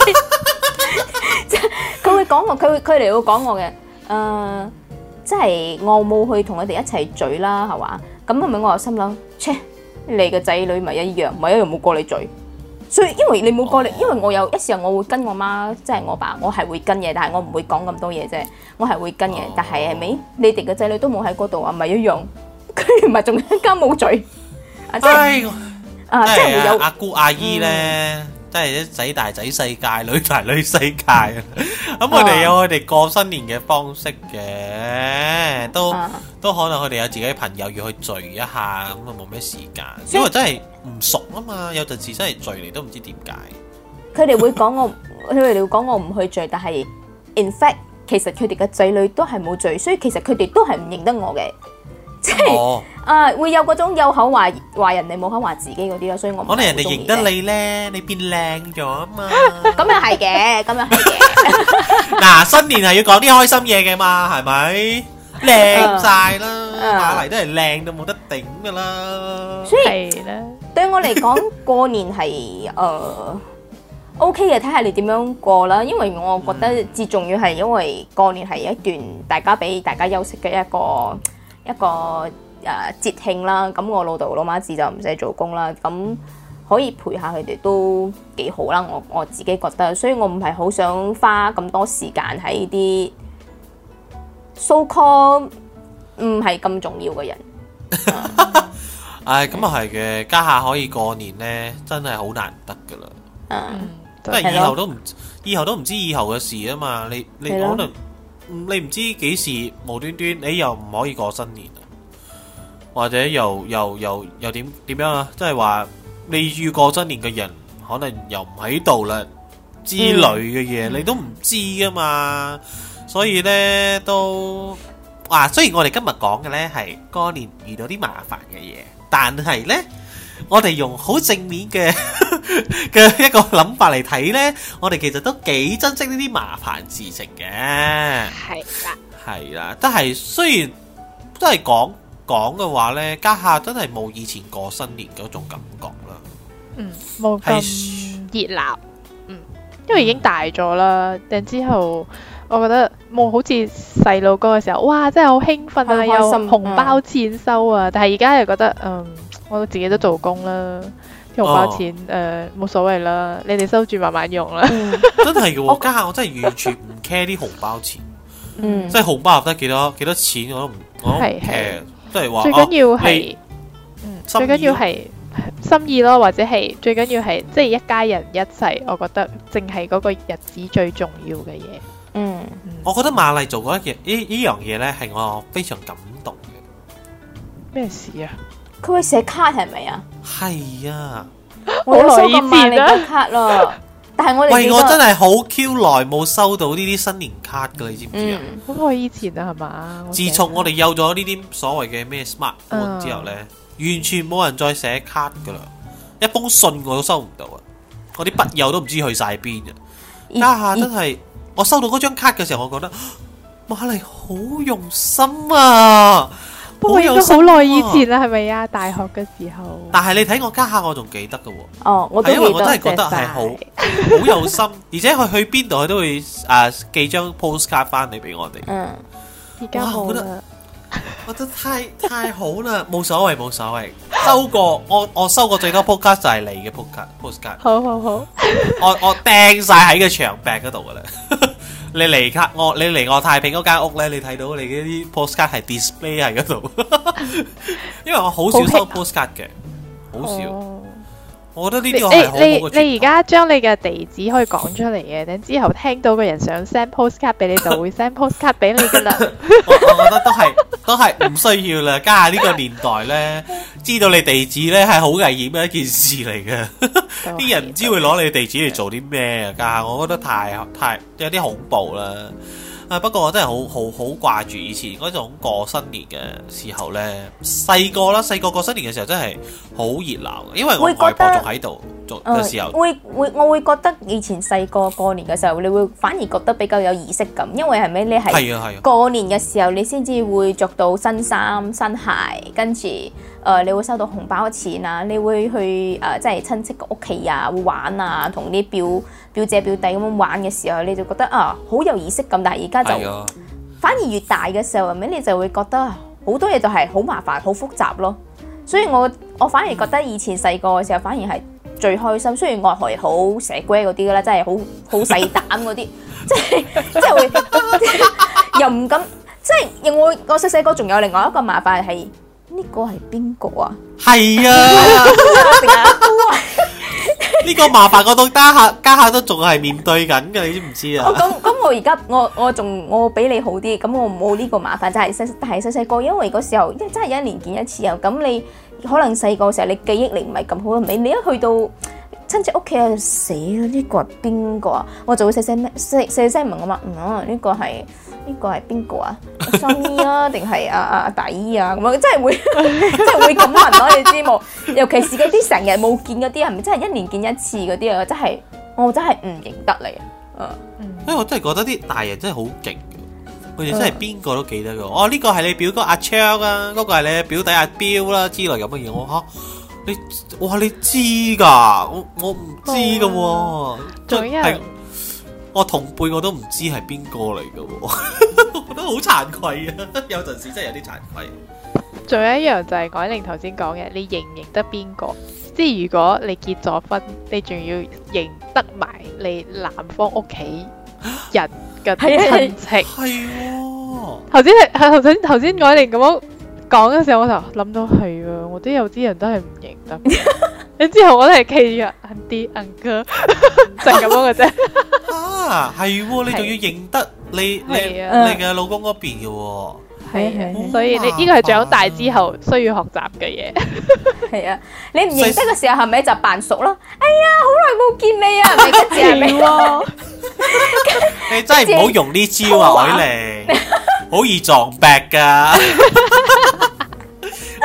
佢會講我，佢會佢哋會講我嘅，誒、呃，即係我冇去同佢哋一齊聚啦，係嘛？咁係咪我又心諗，切，你嘅仔女咪一樣，咪一樣冇過你聚。所以因為你冇過嚟，因為我有一時候我會跟我媽，即係我爸，我係會跟嘅，但係我唔會講咁多嘢啫，我係會跟嘅。但係係咪你哋嘅仔女都冇喺嗰度啊？咪一樣，佢唔係仲一家冇聚啊！即係啊，即係會有阿姑阿姨咧。真係啲仔大仔世界，女大女世界啊！咁佢哋有佢哋過新年嘅方式嘅，都、啊、都可能佢哋有自己朋友要去聚一下，咁啊冇咩時間，因為真係唔熟啊嘛，有陣時真係聚嚟都唔知點解。 佢哋會講我，佢哋會講我唔去聚，但係 in fact 其實佢哋嘅仔女都係冇聚，所以其實佢哋都係唔認得我嘅。即係、哦、啊，會有嗰種有口話話人哋冇口話自己嗰啲咯，所以我可能人哋認得你咧，你變靚咗啊嘛。 咁又係嘅，咁又係嘅。 嗱，新年係要講啲開心嘢嘅嘛，係咪？靚晒啦，馬嚟都係靚到冇得頂噶啦。 所以對我嚟講，過年係誒 OK 嘅，睇下你點樣過啦。因為我覺得至重要係因為過年係一段大家俾大家休息嘅一個。一個誒、呃、節慶啦，咁我老豆老媽子就唔使做工啦，咁可以陪下佢哋都幾好啦。我我自己覺得，所以我唔係好想花咁多時間喺啲 so call 唔係咁重要嘅人。 唉，咁啊係嘅，家下可以過年咧，真係好難得噶啦。 嗯， 因為以後都唔以後都唔知以後嘅事啊嘛，你你可能。你唔知幾時無端端你又唔可以過新年啊，或者又又又又點點樣啊？即係話你預過新年嘅人可能又唔喺度啦之類嘅嘢，嗯、你都唔知噶嘛。所以呢，都啊，雖然我哋今日講嘅呢係過年遇到啲麻煩嘅嘢，但係呢， 我哋用好正面嘅嘅一個諗法嚟睇呢，我哋其實都幾珍惜呢啲麻煩事情嘅。 係啦， 係啦，但係雖然都係講講嘅話呢，家下真係冇以前過新年嗰種感覺啦。 嗯，冇咁熱鬧，嗯，因為已經大咗啦。然之後，我覺得冇好似細路哥嘅時候，哇，真係好興奮啊，有紅包錢收啊！但係而家又覺得，嗯，我自己都做工啦，啲紅包錢誒冇所謂啦，你哋收住慢慢用啦。 真係嘅喎，家下我真係完全唔 care 啲紅包錢， 嗯， 即係紅包入得幾多幾多錢我都唔我都唔 care，即係話最緊要係，嗯，最緊要係心意咯，或者係最緊要係即係一家人一齊，我覺得淨係嗰個日子最重要嘅嘢。 嗯， 我覺得馬麗做嗰一件呢呢樣嘢咧，係我非常感動嘅。 咩事啊？ 佢會寫卡係咪啊？ 係啊， 我有收過馬麗嘅卡咯，但係我哋喂，我真係好 Q 耐冇收到呢啲新年卡噶，你知唔知啊？ 好耐以前啊，係嘛？ 自從我哋有咗呢啲所謂嘅咩 smartphone 之後咧，完全冇人再寫卡噶啦，一封信我都收唔到啊！我啲筆友都唔知去晒邊嘅。家下真係。我收到嗰張卡嘅時候，我覺得馬麗好用心啊！ 不過應該好耐以前啦，係咪啊？大學嘅時候。 但係你睇我家下，我仲記得嘅喎。 哦，我都記得。 係因為我真係覺得係好好有心，而且佢去邊度佢都會誒寄張 postcard 翻嚟俾我哋。 嗯，而家冇啦。 我覺得太太好啦，冇所謂冇所謂。收過我我收過最多 postcard 就係你嘅 postcard postcard。 好好好， 我我釘晒喺個牆壁嗰度噶啦。你嚟卡我你嚟我太平嗰間屋咧，你睇到你嗰啲 postcard 係 display 喺嗰度。因為我好少收 postcard 嘅，好少。 哦， 我覺得呢啲係好好嘅傳統。 你你而家將你嘅地址可以講出嚟嘅，等之後聽到個人想 send postcard 俾你，就會 send postcard 俾你噶啦。 我我覺得都係都係唔需要啦。家下呢個年代咧，知道你地址咧係好危險嘅一件事嚟嘅。啲人唔知會攞你地址嚟做啲咩啊？家下我覺得太太有啲恐怖啦。啊！不過我真係好好好掛住以前嗰種過新年嘅時候咧，細個啦，細個過新年嘅時候真係好熱鬧，因為我外婆仲喺度做嘅時候， 會會我會覺得以前細個過年嘅時候，你會反而覺得比較有儀式感，因為係咪你係過年嘅時候，你先至會着到新衫新鞋，跟住誒、呃、你會收到紅包錢啊，你會去誒、呃、即係親戚嘅屋企啊，會玩啊，同啲表表姐表弟咁樣玩嘅時候，你就覺得啊好有儀式感，但係而家就反而越大嘅時候，係咪你就會覺得好多嘢就係好麻煩、好複雜咯。所以我我反而覺得以前細個嘅時候，反而係最開心。雖然我係好蛇龜嗰啲噶啦，真係好好細膽嗰啲，即係即係會又唔敢，即係我我細細個仲有另外一個麻煩係呢個係邊個啊？ 係啊。呢個麻煩我到家下家下都仲係面對緊嘅，你知唔知啊？ 咁咁我而家我我仲我比你好啲，咁我冇呢個麻煩，就係細但係細細個，因為嗰時候真係一年見一次啊，咁你可能細個時候你記憶力唔係咁好，你你一去到親戚屋企啊死啦！呢個係邊個啊？我就會細細咩細細聲問我話，嗯呢個係呢個係邊個啊？新姨啊，定係阿阿阿大姨啊？咁樣真係會真係會咁問咯，你知冇？尤其是嗰啲成日冇見嗰啲，係咪真係一年見一次嗰啲啊？真係我真係唔認得你啊！ 因為我真係覺得啲大人真係好勁嘅，佢哋真係邊個都記得嘅。哦，呢個係你表哥阿昌啊，嗰個係你表弟阿彪啦之類咁嘅嘢。我嚇你，哇你知㗎？我我唔知㗎喎。 仲有一我同輩我都唔知係邊個嚟嘅喎，我覺得好慚愧啊！有陣時真係有啲慚愧。 仲有一樣就係改玲頭先講嘅，你認唔認得邊個？即係如果你結咗婚，你仲要認得埋你男方屋企人嘅親戚。 係喎。 頭先係頭先頭先改玲咁樣講嘅時候，我就諗到係啊，我都有啲人都係唔認得。你之後我都係企住 auntie uncle 就咁樣嘅啫。 啊，係喎，你仲要認得你你你嘅老公嗰邊嘅喎。 係係，所以你呢個係長大之後需要學習嘅嘢。 係啊，你唔認得嘅時候係咪就扮熟咯？哎呀，好耐冇見你啊，咪跟住係咪喎？ 你真係唔好用呢招啊，海玲，好易撞壁噶。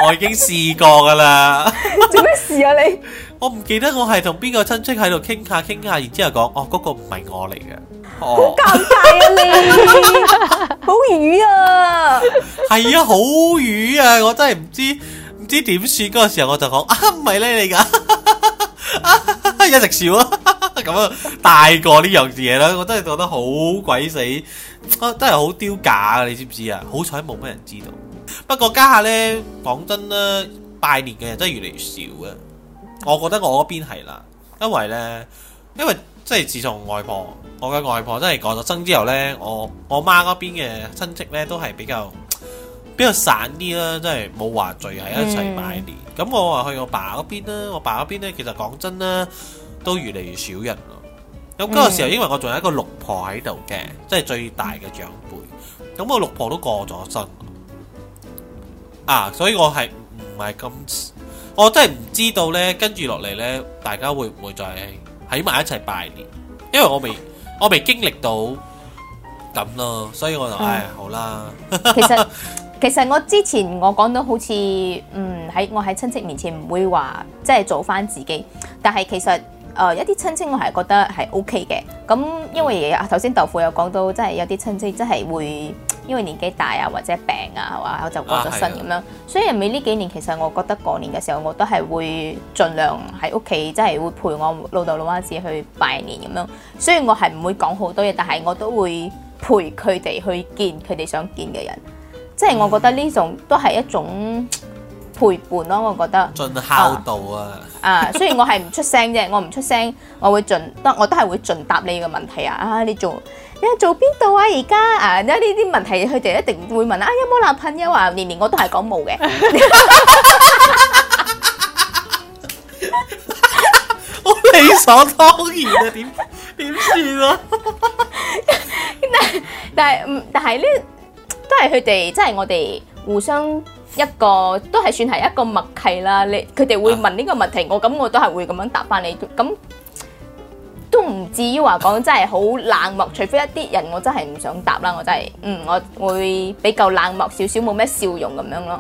我已經試過噶啦。 做咩事啊你？ 我唔記得我係同邊個親戚喺度傾下傾下，然之後講哦嗰、嗰個唔係我嚟嘅。 好哦， 尷尬啊你，好魚啊！ 係啊，好魚啊！我真係唔知唔知點算嗰個時候，我就講啊唔係你嚟㗎，一直笑啊，咁啊大過呢樣嘢啦，我真係覺得好鬼死，啊真係好丟架啊！你知唔知啊？好彩冇乜人知道。不過家下呢，講真啦，拜年嘅人真係越嚟越少啊！我覺得我嗰邊係啦，因為呢，因為即係自從外婆，我嘅外婆真係過咗身之後呢，我我媽嗰邊嘅親戚呢都係比較比較散啲啦，即係冇話聚喺一齊拜年。咁、嗯、我話去我爸嗰邊啦，我爸嗰邊呢其實講真啦，都越嚟越少人咯。咁嗰個時候，因為我仲有一個六婆喺度嘅，即係最大嘅長輩。咁我六婆都過咗身啊，所以我係唔係咁。我真係唔知道呢，跟住落嚟呢，大家會唔會再喺埋一齊拜年？因為我未，我未經歷到咁咯，所以我就唉，好啦。 其實其實我之前我講到好似嗯喺我喺親戚面前唔會話即係做翻自己，但係其實誒、呃、一啲親戚我係覺得係 O K 嘅。咁因為頭先豆腐有講到，即係有啲親戚真係會。因為年紀大啊，或者病啊，係嘛，我就過咗身咁樣。啊、所以尾呢幾年，其實我覺得過年嘅時候，我都係會盡量喺屋企，即係會陪我老豆老媽子去拜年咁樣。雖然我係唔會講好多嘢，但係我都會陪佢哋去見佢哋想見嘅人。即係我覺得呢種都係一種陪伴咯。我覺得盡孝道啊！ 啊，雖然我係唔出聲啫，我唔出聲，我會盡得，我都係會盡答你嘅問題啊！啊，你做。你做邊度啊？而家啊，呢啲問題佢哋一定會問啊，有冇男朋友啊？年年我都係講冇嘅， 好理所當然啊！點點算啊？ 但係嗯，但係呢都係佢哋，即係我哋互相一個都係算係一個默契啦。你佢哋會問呢個問題，我咁我都係會咁樣答翻你咁。都唔至於話講真係好冷漠，除非一啲人我真係唔想答啦，我真係嗯我會比較冷漠少少，冇咩笑容咁樣咯。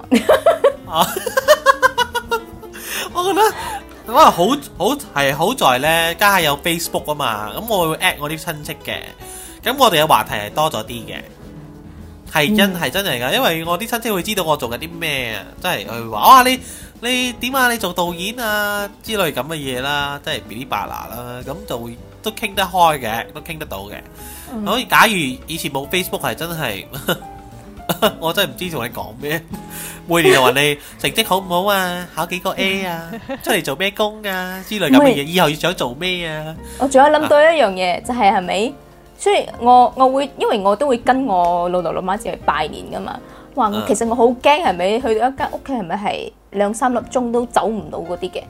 我覺得我話好好係好在呢，家下有 Facebook 啊嘛，咁我會 at 我啲親戚嘅，咁我哋嘅話題係多咗啲嘅，係真係、嗯、真係噶，因為我啲親戚會知道我做緊啲咩啊，即係佢會話哇你。你點啊？你做導演啊之類咁嘅嘢啦，即係嗶哩吧啦啦，咁就會都傾得開嘅，都傾得到嘅。所以、嗯、假如以前冇 Facebook 係真係，我真係唔知同你講咩。每年就問你成績好唔好啊？考幾個 A 啊？出嚟做咩工啊？之類咁嘅嘢，以後要想做咩啊？我仲有諗到一樣嘢，就係係咪？所以我我會因為我都會跟我老豆老媽子去拜年噶嘛。哇！其實我好驚係咪去到一間屋企係咪係兩三粒鐘都走唔到嗰啲嘅？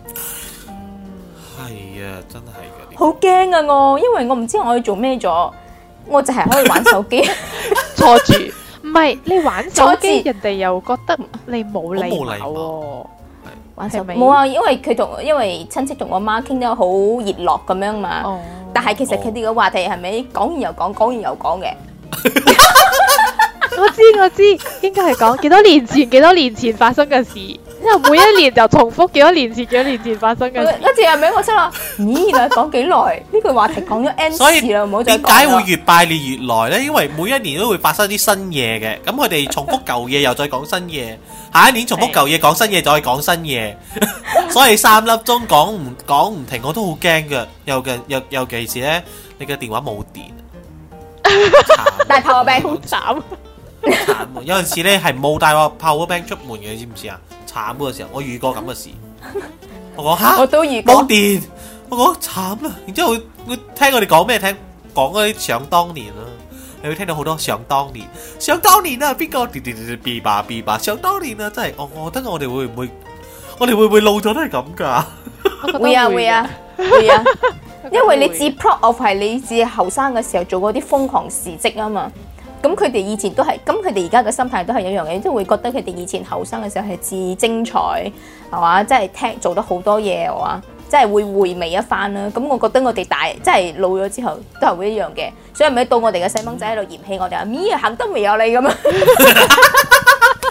係啊，真係嘅。 好驚啊！我因為我唔知我要做咩咗，我就係可以玩手機坐住。唔係你玩手機，人哋又覺得你冇禮貌喎。 玩手機冇啊，因為佢同因為親戚同我媽傾得好熱絡咁樣嘛。哦。但係其實佢哋嘅話題係咪講完又講，講完又講嘅？ 我知我知，應該係講幾多年前幾多年前發生嘅事，因為每一年就重複幾多年前幾多年前發生嘅事。 一次係咪我心諗，咦，原來講幾耐？呢句話題講咗 N 次啦，唔好再講啦。 點解會越拜年越耐呢？因為每一年都會發生啲新嘢嘅，咁佢哋重複舊嘢又再講新嘢，下一年重複舊嘢講新嘢再講新嘢，所以三粒鐘講唔講唔停，我都好驚㗎。尤其尤尤其是呢，你嘅電話冇電， 大 power bank 好慘。 慘，有陣時咧係冇帶個 power bank 出門嘅，你知唔知啊？慘嗰個時候，我遇過咁嘅事。我講吓， 我都遇過冇電，我講慘啦。然之後會會聽我哋講咩？聽講嗰啲想當年啦，你會聽到好多想當年，想當年啊，邊個？嗶嗶嗶吧嗶吧，想當年啊，真係我我覺得我哋會唔會，我哋會唔會老咗都係咁噶？ 會啊會啊會啊，因為你自 proud of 係你自後生嘅時候做嗰啲瘋狂事蹟啊嘛。咁佢哋以前都係，咁佢哋而家嘅心態都係一樣嘅，即係會覺得佢哋以前後生嘅時候係至精彩，係嘛？即係聽做得好多嘢，係嘛？即係會回味一番啦。咁我覺得我哋大，即係老咗之後都係會一樣嘅。所以咪到我哋嘅細蚊仔喺度嫌棄我哋阿咪行得未有你咁啊！ 但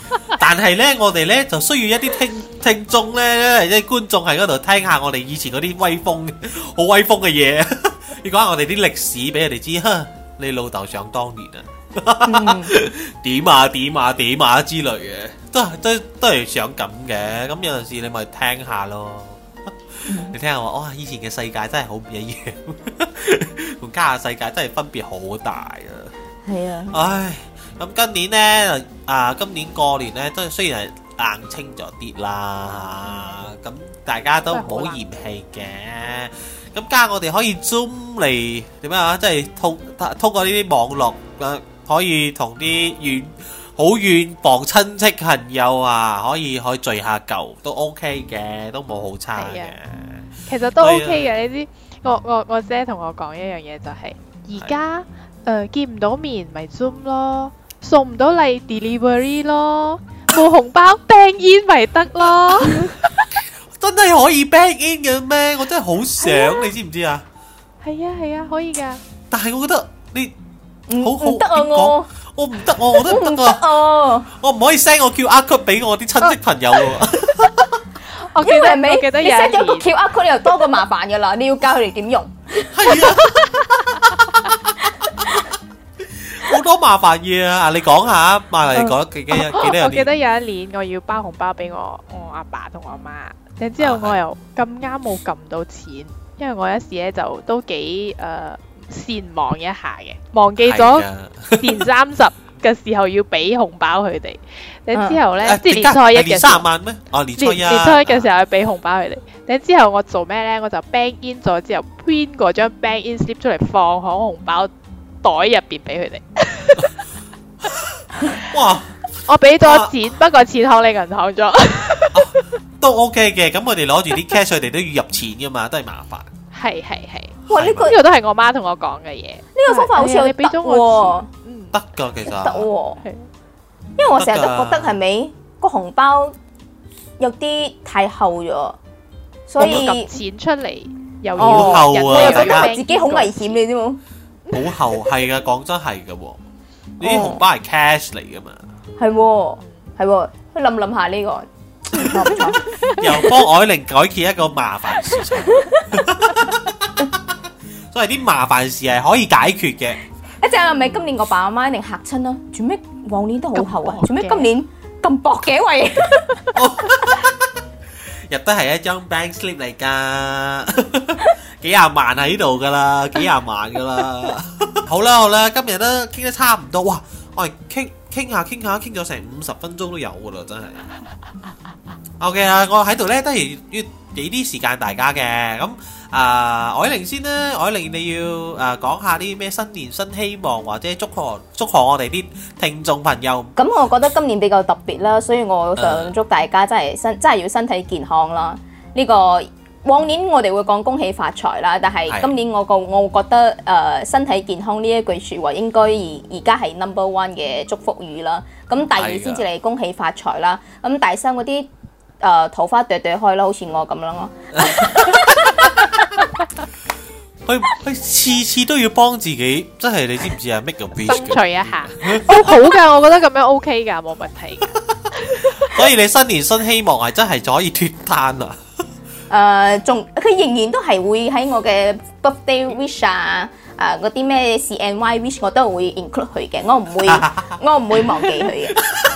但係咧，我哋咧就需要一啲聽聽眾咧，即係觀眾喺嗰度聽下我哋以前嗰啲威風、好威風嘅嘢，要講下我哋啲歷史俾人哋知。哈，你老豆想當年啊，點啊點啊點啊之類嘅，都都都係想咁嘅。咁有陣時你咪聽下咯。你聽下話，哇！以前嘅世界真係好唔一樣，同家下世界真係分別好大啊！ 係啊， 唉，咁今年呢，啊，今年過年呢，都雖然係冷清咗啲啦，咁大家都唔好嫌棄嘅。咁加我哋可以 Zoom 嚟點啊？即係通通過呢啲網絡，誒，可以同啲遠好遠房親戚朋友啊，可以可以聚下舊，都 OK 嘅，都冇好差嘅。 其實都 OK 嘅，你知我我我姐同我講一樣嘢就係，而家誒見唔到面咪 Zoom 咯，送唔到禮 delivery 咯，冇紅包 bank in 咪得咯。 真係可以 bank in 嘅咩？我真係好想，你知唔知啊？ 係啊係啊，可以㗎。 但係我覺得你好好唔得啊我。 我唔得，我我都唔得啊！我唔可以 send 我 Q R code 俾我啲親戚朋友喎。 我記得因為我記得你有一 send 咗個年 Q R code 你又多個麻煩噶啦，你要教佢哋點用。 係啊，好多麻煩嘢啊！你講下，馬嚟講記記記得有我記得啲有一年我要包紅包俾我我阿爸同我媽，然之後我又咁啱冇撳到錢，因為我有時咧就都幾誒善忘一下嘅，忘記咗年三十嘅時候要俾紅包佢哋，然之後咧即係年初一嘅年時候三十萬咩？哦，年初一年年初一嘅時候要俾紅包佢哋，然之後我做咩咧？我就 bank in 咗之後 print 嗰張 bank in slip 出嚟放喺紅包袋入邊俾佢哋。 哇！ 我俾咗錢，不過錢喺你銀行咗。 都 OK 嘅，咁我哋攞住啲 cash，佢哋都要入錢噶嘛，都係麻煩。 係係係， 哇！呢個呢個都係我媽同我講嘅嘢。 呢個方法好似有得你俾咗我喎， 嗯， 得㗎，其實得喎。 係因為我成日都覺得係咪個紅包有啲太厚咗，所以撳錢出嚟又好要厚啊人我又覺又要得自己好危險，你知冇？ 好厚係噶，講真係㗎喎。呢啲紅包係 cash 嚟噶嘛， 係喎係喎，去諗諗下呢個唔錯唔錯。 又幫愛玲改決一個麻煩事情。所以啲麻煩事係可以解決嘅。 一陣係咪今年我爸阿媽一定嚇親啦？做咩往年都好厚啊咁薄？嘅做咩今年咁薄嘅喂？ 入得係一張 bank slip 嚟㗎，幾廿萬喺度㗎啦，幾廿萬㗎啦。好啦好啦，今日都傾得差唔多，哇！我哋傾傾下傾下傾咗成五十分鐘都有㗎啦，真係。OK 啦，我喺度咧都係要俾啲時間大家嘅。咁啊，愛玲先啦，愛玲你要誒講下啲咩新年新希望，或者祝賀祝賀我哋啲聽眾朋友。 咁我覺得今年比較特別啦，所以我想祝大家真係身真係要身體健康啦。呢個往年我哋會講恭喜發財啦，但係今年我個我覺得誒身體健康呢一句説話應該而而家係 number one 嘅祝福語啦。咁第二先至嚟恭喜發財啦。咁第三嗰啲誒桃花朵朵開啦，好似我咁樣咯。 佢佢次次都要幫自己，真係你知唔知啊？Make a wish 爭嘅， 取一下，哦好㗎，我覺得咁樣 OK 㗎，冇問題㗎。 所以你新年新希望係真係可以脱單啊！ 誒，仲佢仍然都係會喺我嘅 birthday wish 啊，誒嗰啲咩 C N Y wish 我都會 include 佢嘅，我唔會我唔會忘記佢嘅。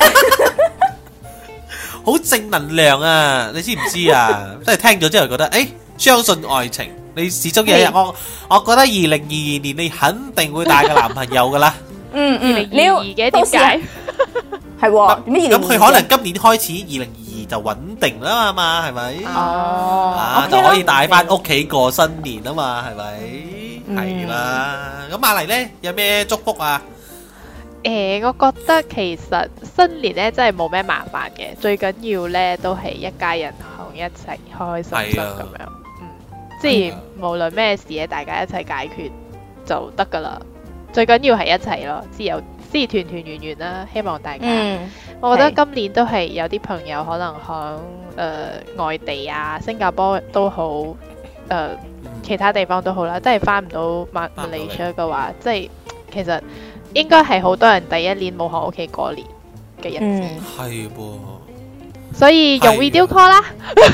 好正能量啊！你知唔知啊？真係聽咗之後覺得，誒，相信愛情，你始終有一日，我我覺得二零二二年你肯定會帶個男朋友噶啦。 嗯嗯， 二零二二嘅點解？ 係喎，點解二零二二？ 咁佢可能今年開始二零二二就穩定啦嘛，係咪？ 哦， 啊，就可以帶翻屋企過新年啊嘛，係咪？係啦。咁馬麗咧有咩祝福啊？ 誒，我覺得其實新年咧真係冇咩麻煩嘅，最緊要咧都係一家人同一齊開開心心咁樣，嗯，即係無論咩事咧，大家一齊解決就得噶啦。最緊要係一齊咯，即係有即係團團圓圓啦。希望大家， 嗯， 我覺得今年都係有啲朋友可能響誒外地啊，新加坡都好，誒其他地方都好啦，即係翻唔到馬馬來西亞嘅話，即係其實。應該係好多人第一年冇喺屋企過年， 嘅日子。 係噃、 所以用 video call 啦。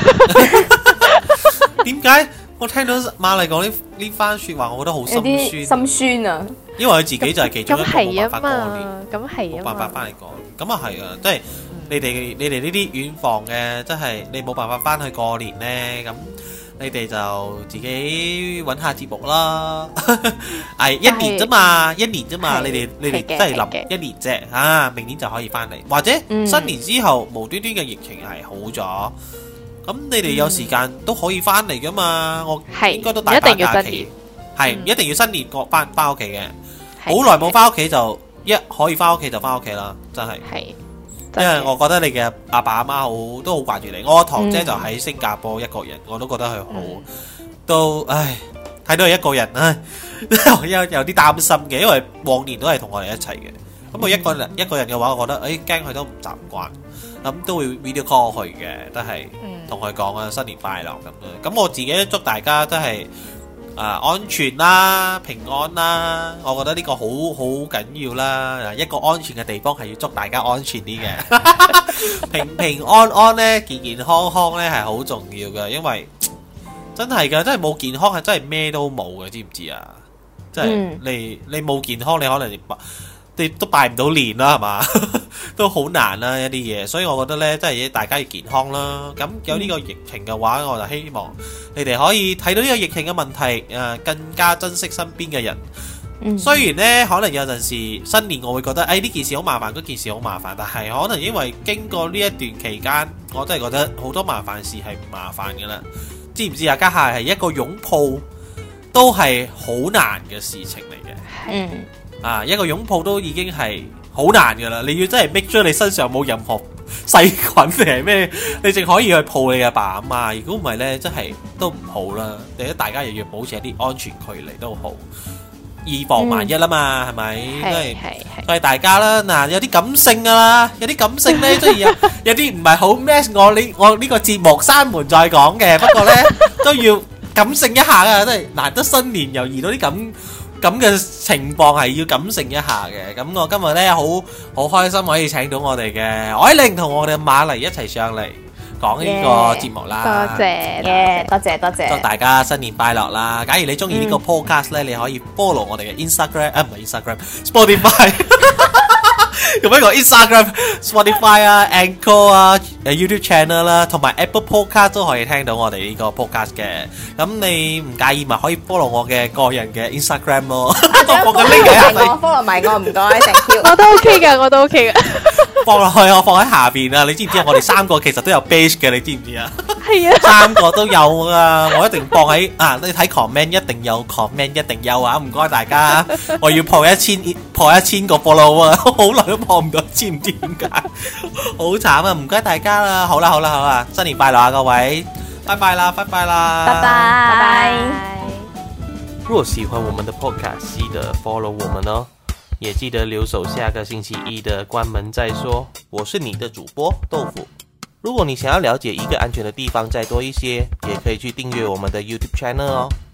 點解我聽到馬麗講呢呢番説話，我覺得好有心啲酸， 心酸啊！ 因為佢自己就係其中一個冇咁係啊辦法過年。 嘛，咁係啊冇辦法嘛。 翻嚟講，咁啊係啊，即係你哋你哋呢啲遠房嘅，即係你冇辦法翻去過年呢，咁你哋就自己揾下節目啦。係一年啫嘛，一年啫嘛， 係你哋你哋係嘅真係係嘅諗一年啫，啊，明年就可以翻嚟，或者嗯新年之後無端端嘅疫情係好咗，咁你哋有時間都可以翻嚟噶嘛，我係應該都大把一定要假期新年， 係嗯一定要新年過翻翻屋企嘅， 係好耐冇翻屋企就一可以翻屋企就翻屋企啦，真係。 係， 因為我覺得你嘅阿爸阿媽好都好掛住你，我堂姐嗯就喺新加坡一個人，我都覺得佢好， 嗯都唉睇到佢一個人唉，有有啲擔心嘅，因為往年都係同我哋一齊嘅，咁佢一個人一個人嘅話，我覺得誒驚佢都唔習慣，咁都會 video call 佢嘅，都係嗯同佢講啊新年快樂咁樣，咁我自己祝大家都係。啊，安全啦，平安啦，我覺得呢個好好緊要啦。一個安全嘅地方係要祝大家安全啲嘅，平平安安呢，健健康康呢係好重要嘅，因為真係㗎，真係冇健康係真係咩都冇嘅，知唔知啊？即係嗯你你冇健康，你可能你你都拜唔到年啦，係嘛？都好難啦一啲嘢，所以我覺得呢，真係大家要健康啦。咁有呢個疫情嘅話，我就希望你哋可以睇到呢個疫情嘅問題，誒更加珍惜身邊嘅人。 嗯雖然呢，可能有陣時新年我會覺得，誒呢件事好麻煩，嗰件事好麻煩，但係可能因為經過呢一段期間，我真係覺得好多麻煩事係唔麻煩嘅啦。知唔知啊？家下係一個擁抱都係好難嘅事情嚟嘅。 嗯啊，一個擁抱都已經係好難噶啦，你要真係 make sure你身上冇任何細菌定係咩，你淨可以去抱你嘅爸阿媽。如果唔係呢，真係都唔好啦。或者大家又要保持一啲安全距離都好，以防萬一啦嘛，係咪？都係係係係。 所以大家啦，嗱有啲感性噶啦，有啲感性呢，雖然有有啲唔係好 match 我呢我呢個節目閂門再講嘅，不過呢都要感性一下噶，真係難得新年又遇到啲咁。咁嘅情況係要感性一下嘅，咁我今日呢，好好開心可以請到我哋嘅愛玲同我哋馬麗一齊上嚟講呢個節目啦。 多謝， 耶，多謝多祝謝。 大家新年快樂啦！假如你中意呢個 podcast 呢，你可以 follow 我哋嘅 Instagram 啊，唔係 Instagram，Spotify。咁一個 Instagram、Spotify 啊、Anchor 啊、誒 YouTube channel 啦，同埋 Apple Podcast 都可以聽到我哋呢個 podcast 嘅。咁你唔介意咪可以 follow 我嘅個人嘅 Instagram 咯。我個 link 喺下我底， follow 埋我，唔該，thank you。 我都 OK 噶，我都 OK 噶。 放落去我放喺下邊啊！你知唔知啊？我哋三個其實都有 base 嘅，你知唔知啊？ 係啊， 三個都有啊！我一定放喺啊！你睇 comment 一定有 comment 一定有啊！唔該大家，我要破一千破一千個 follow 啊！好耐都破唔到，知唔知點解？好慘啊！唔該大家啦，好啦好啦好啦，新年快樂啊各位，拜拜啦，拜拜啦， 拜拜拜拜。 若喜歡我們的 podcast，記得 follow 我們哦，也記得留守下個星期一的關門再說。我是你的主播豆腐。如果你想要了解一個安全的地方再多一些，也可以去訂閱我們的 YouTube channel 哦。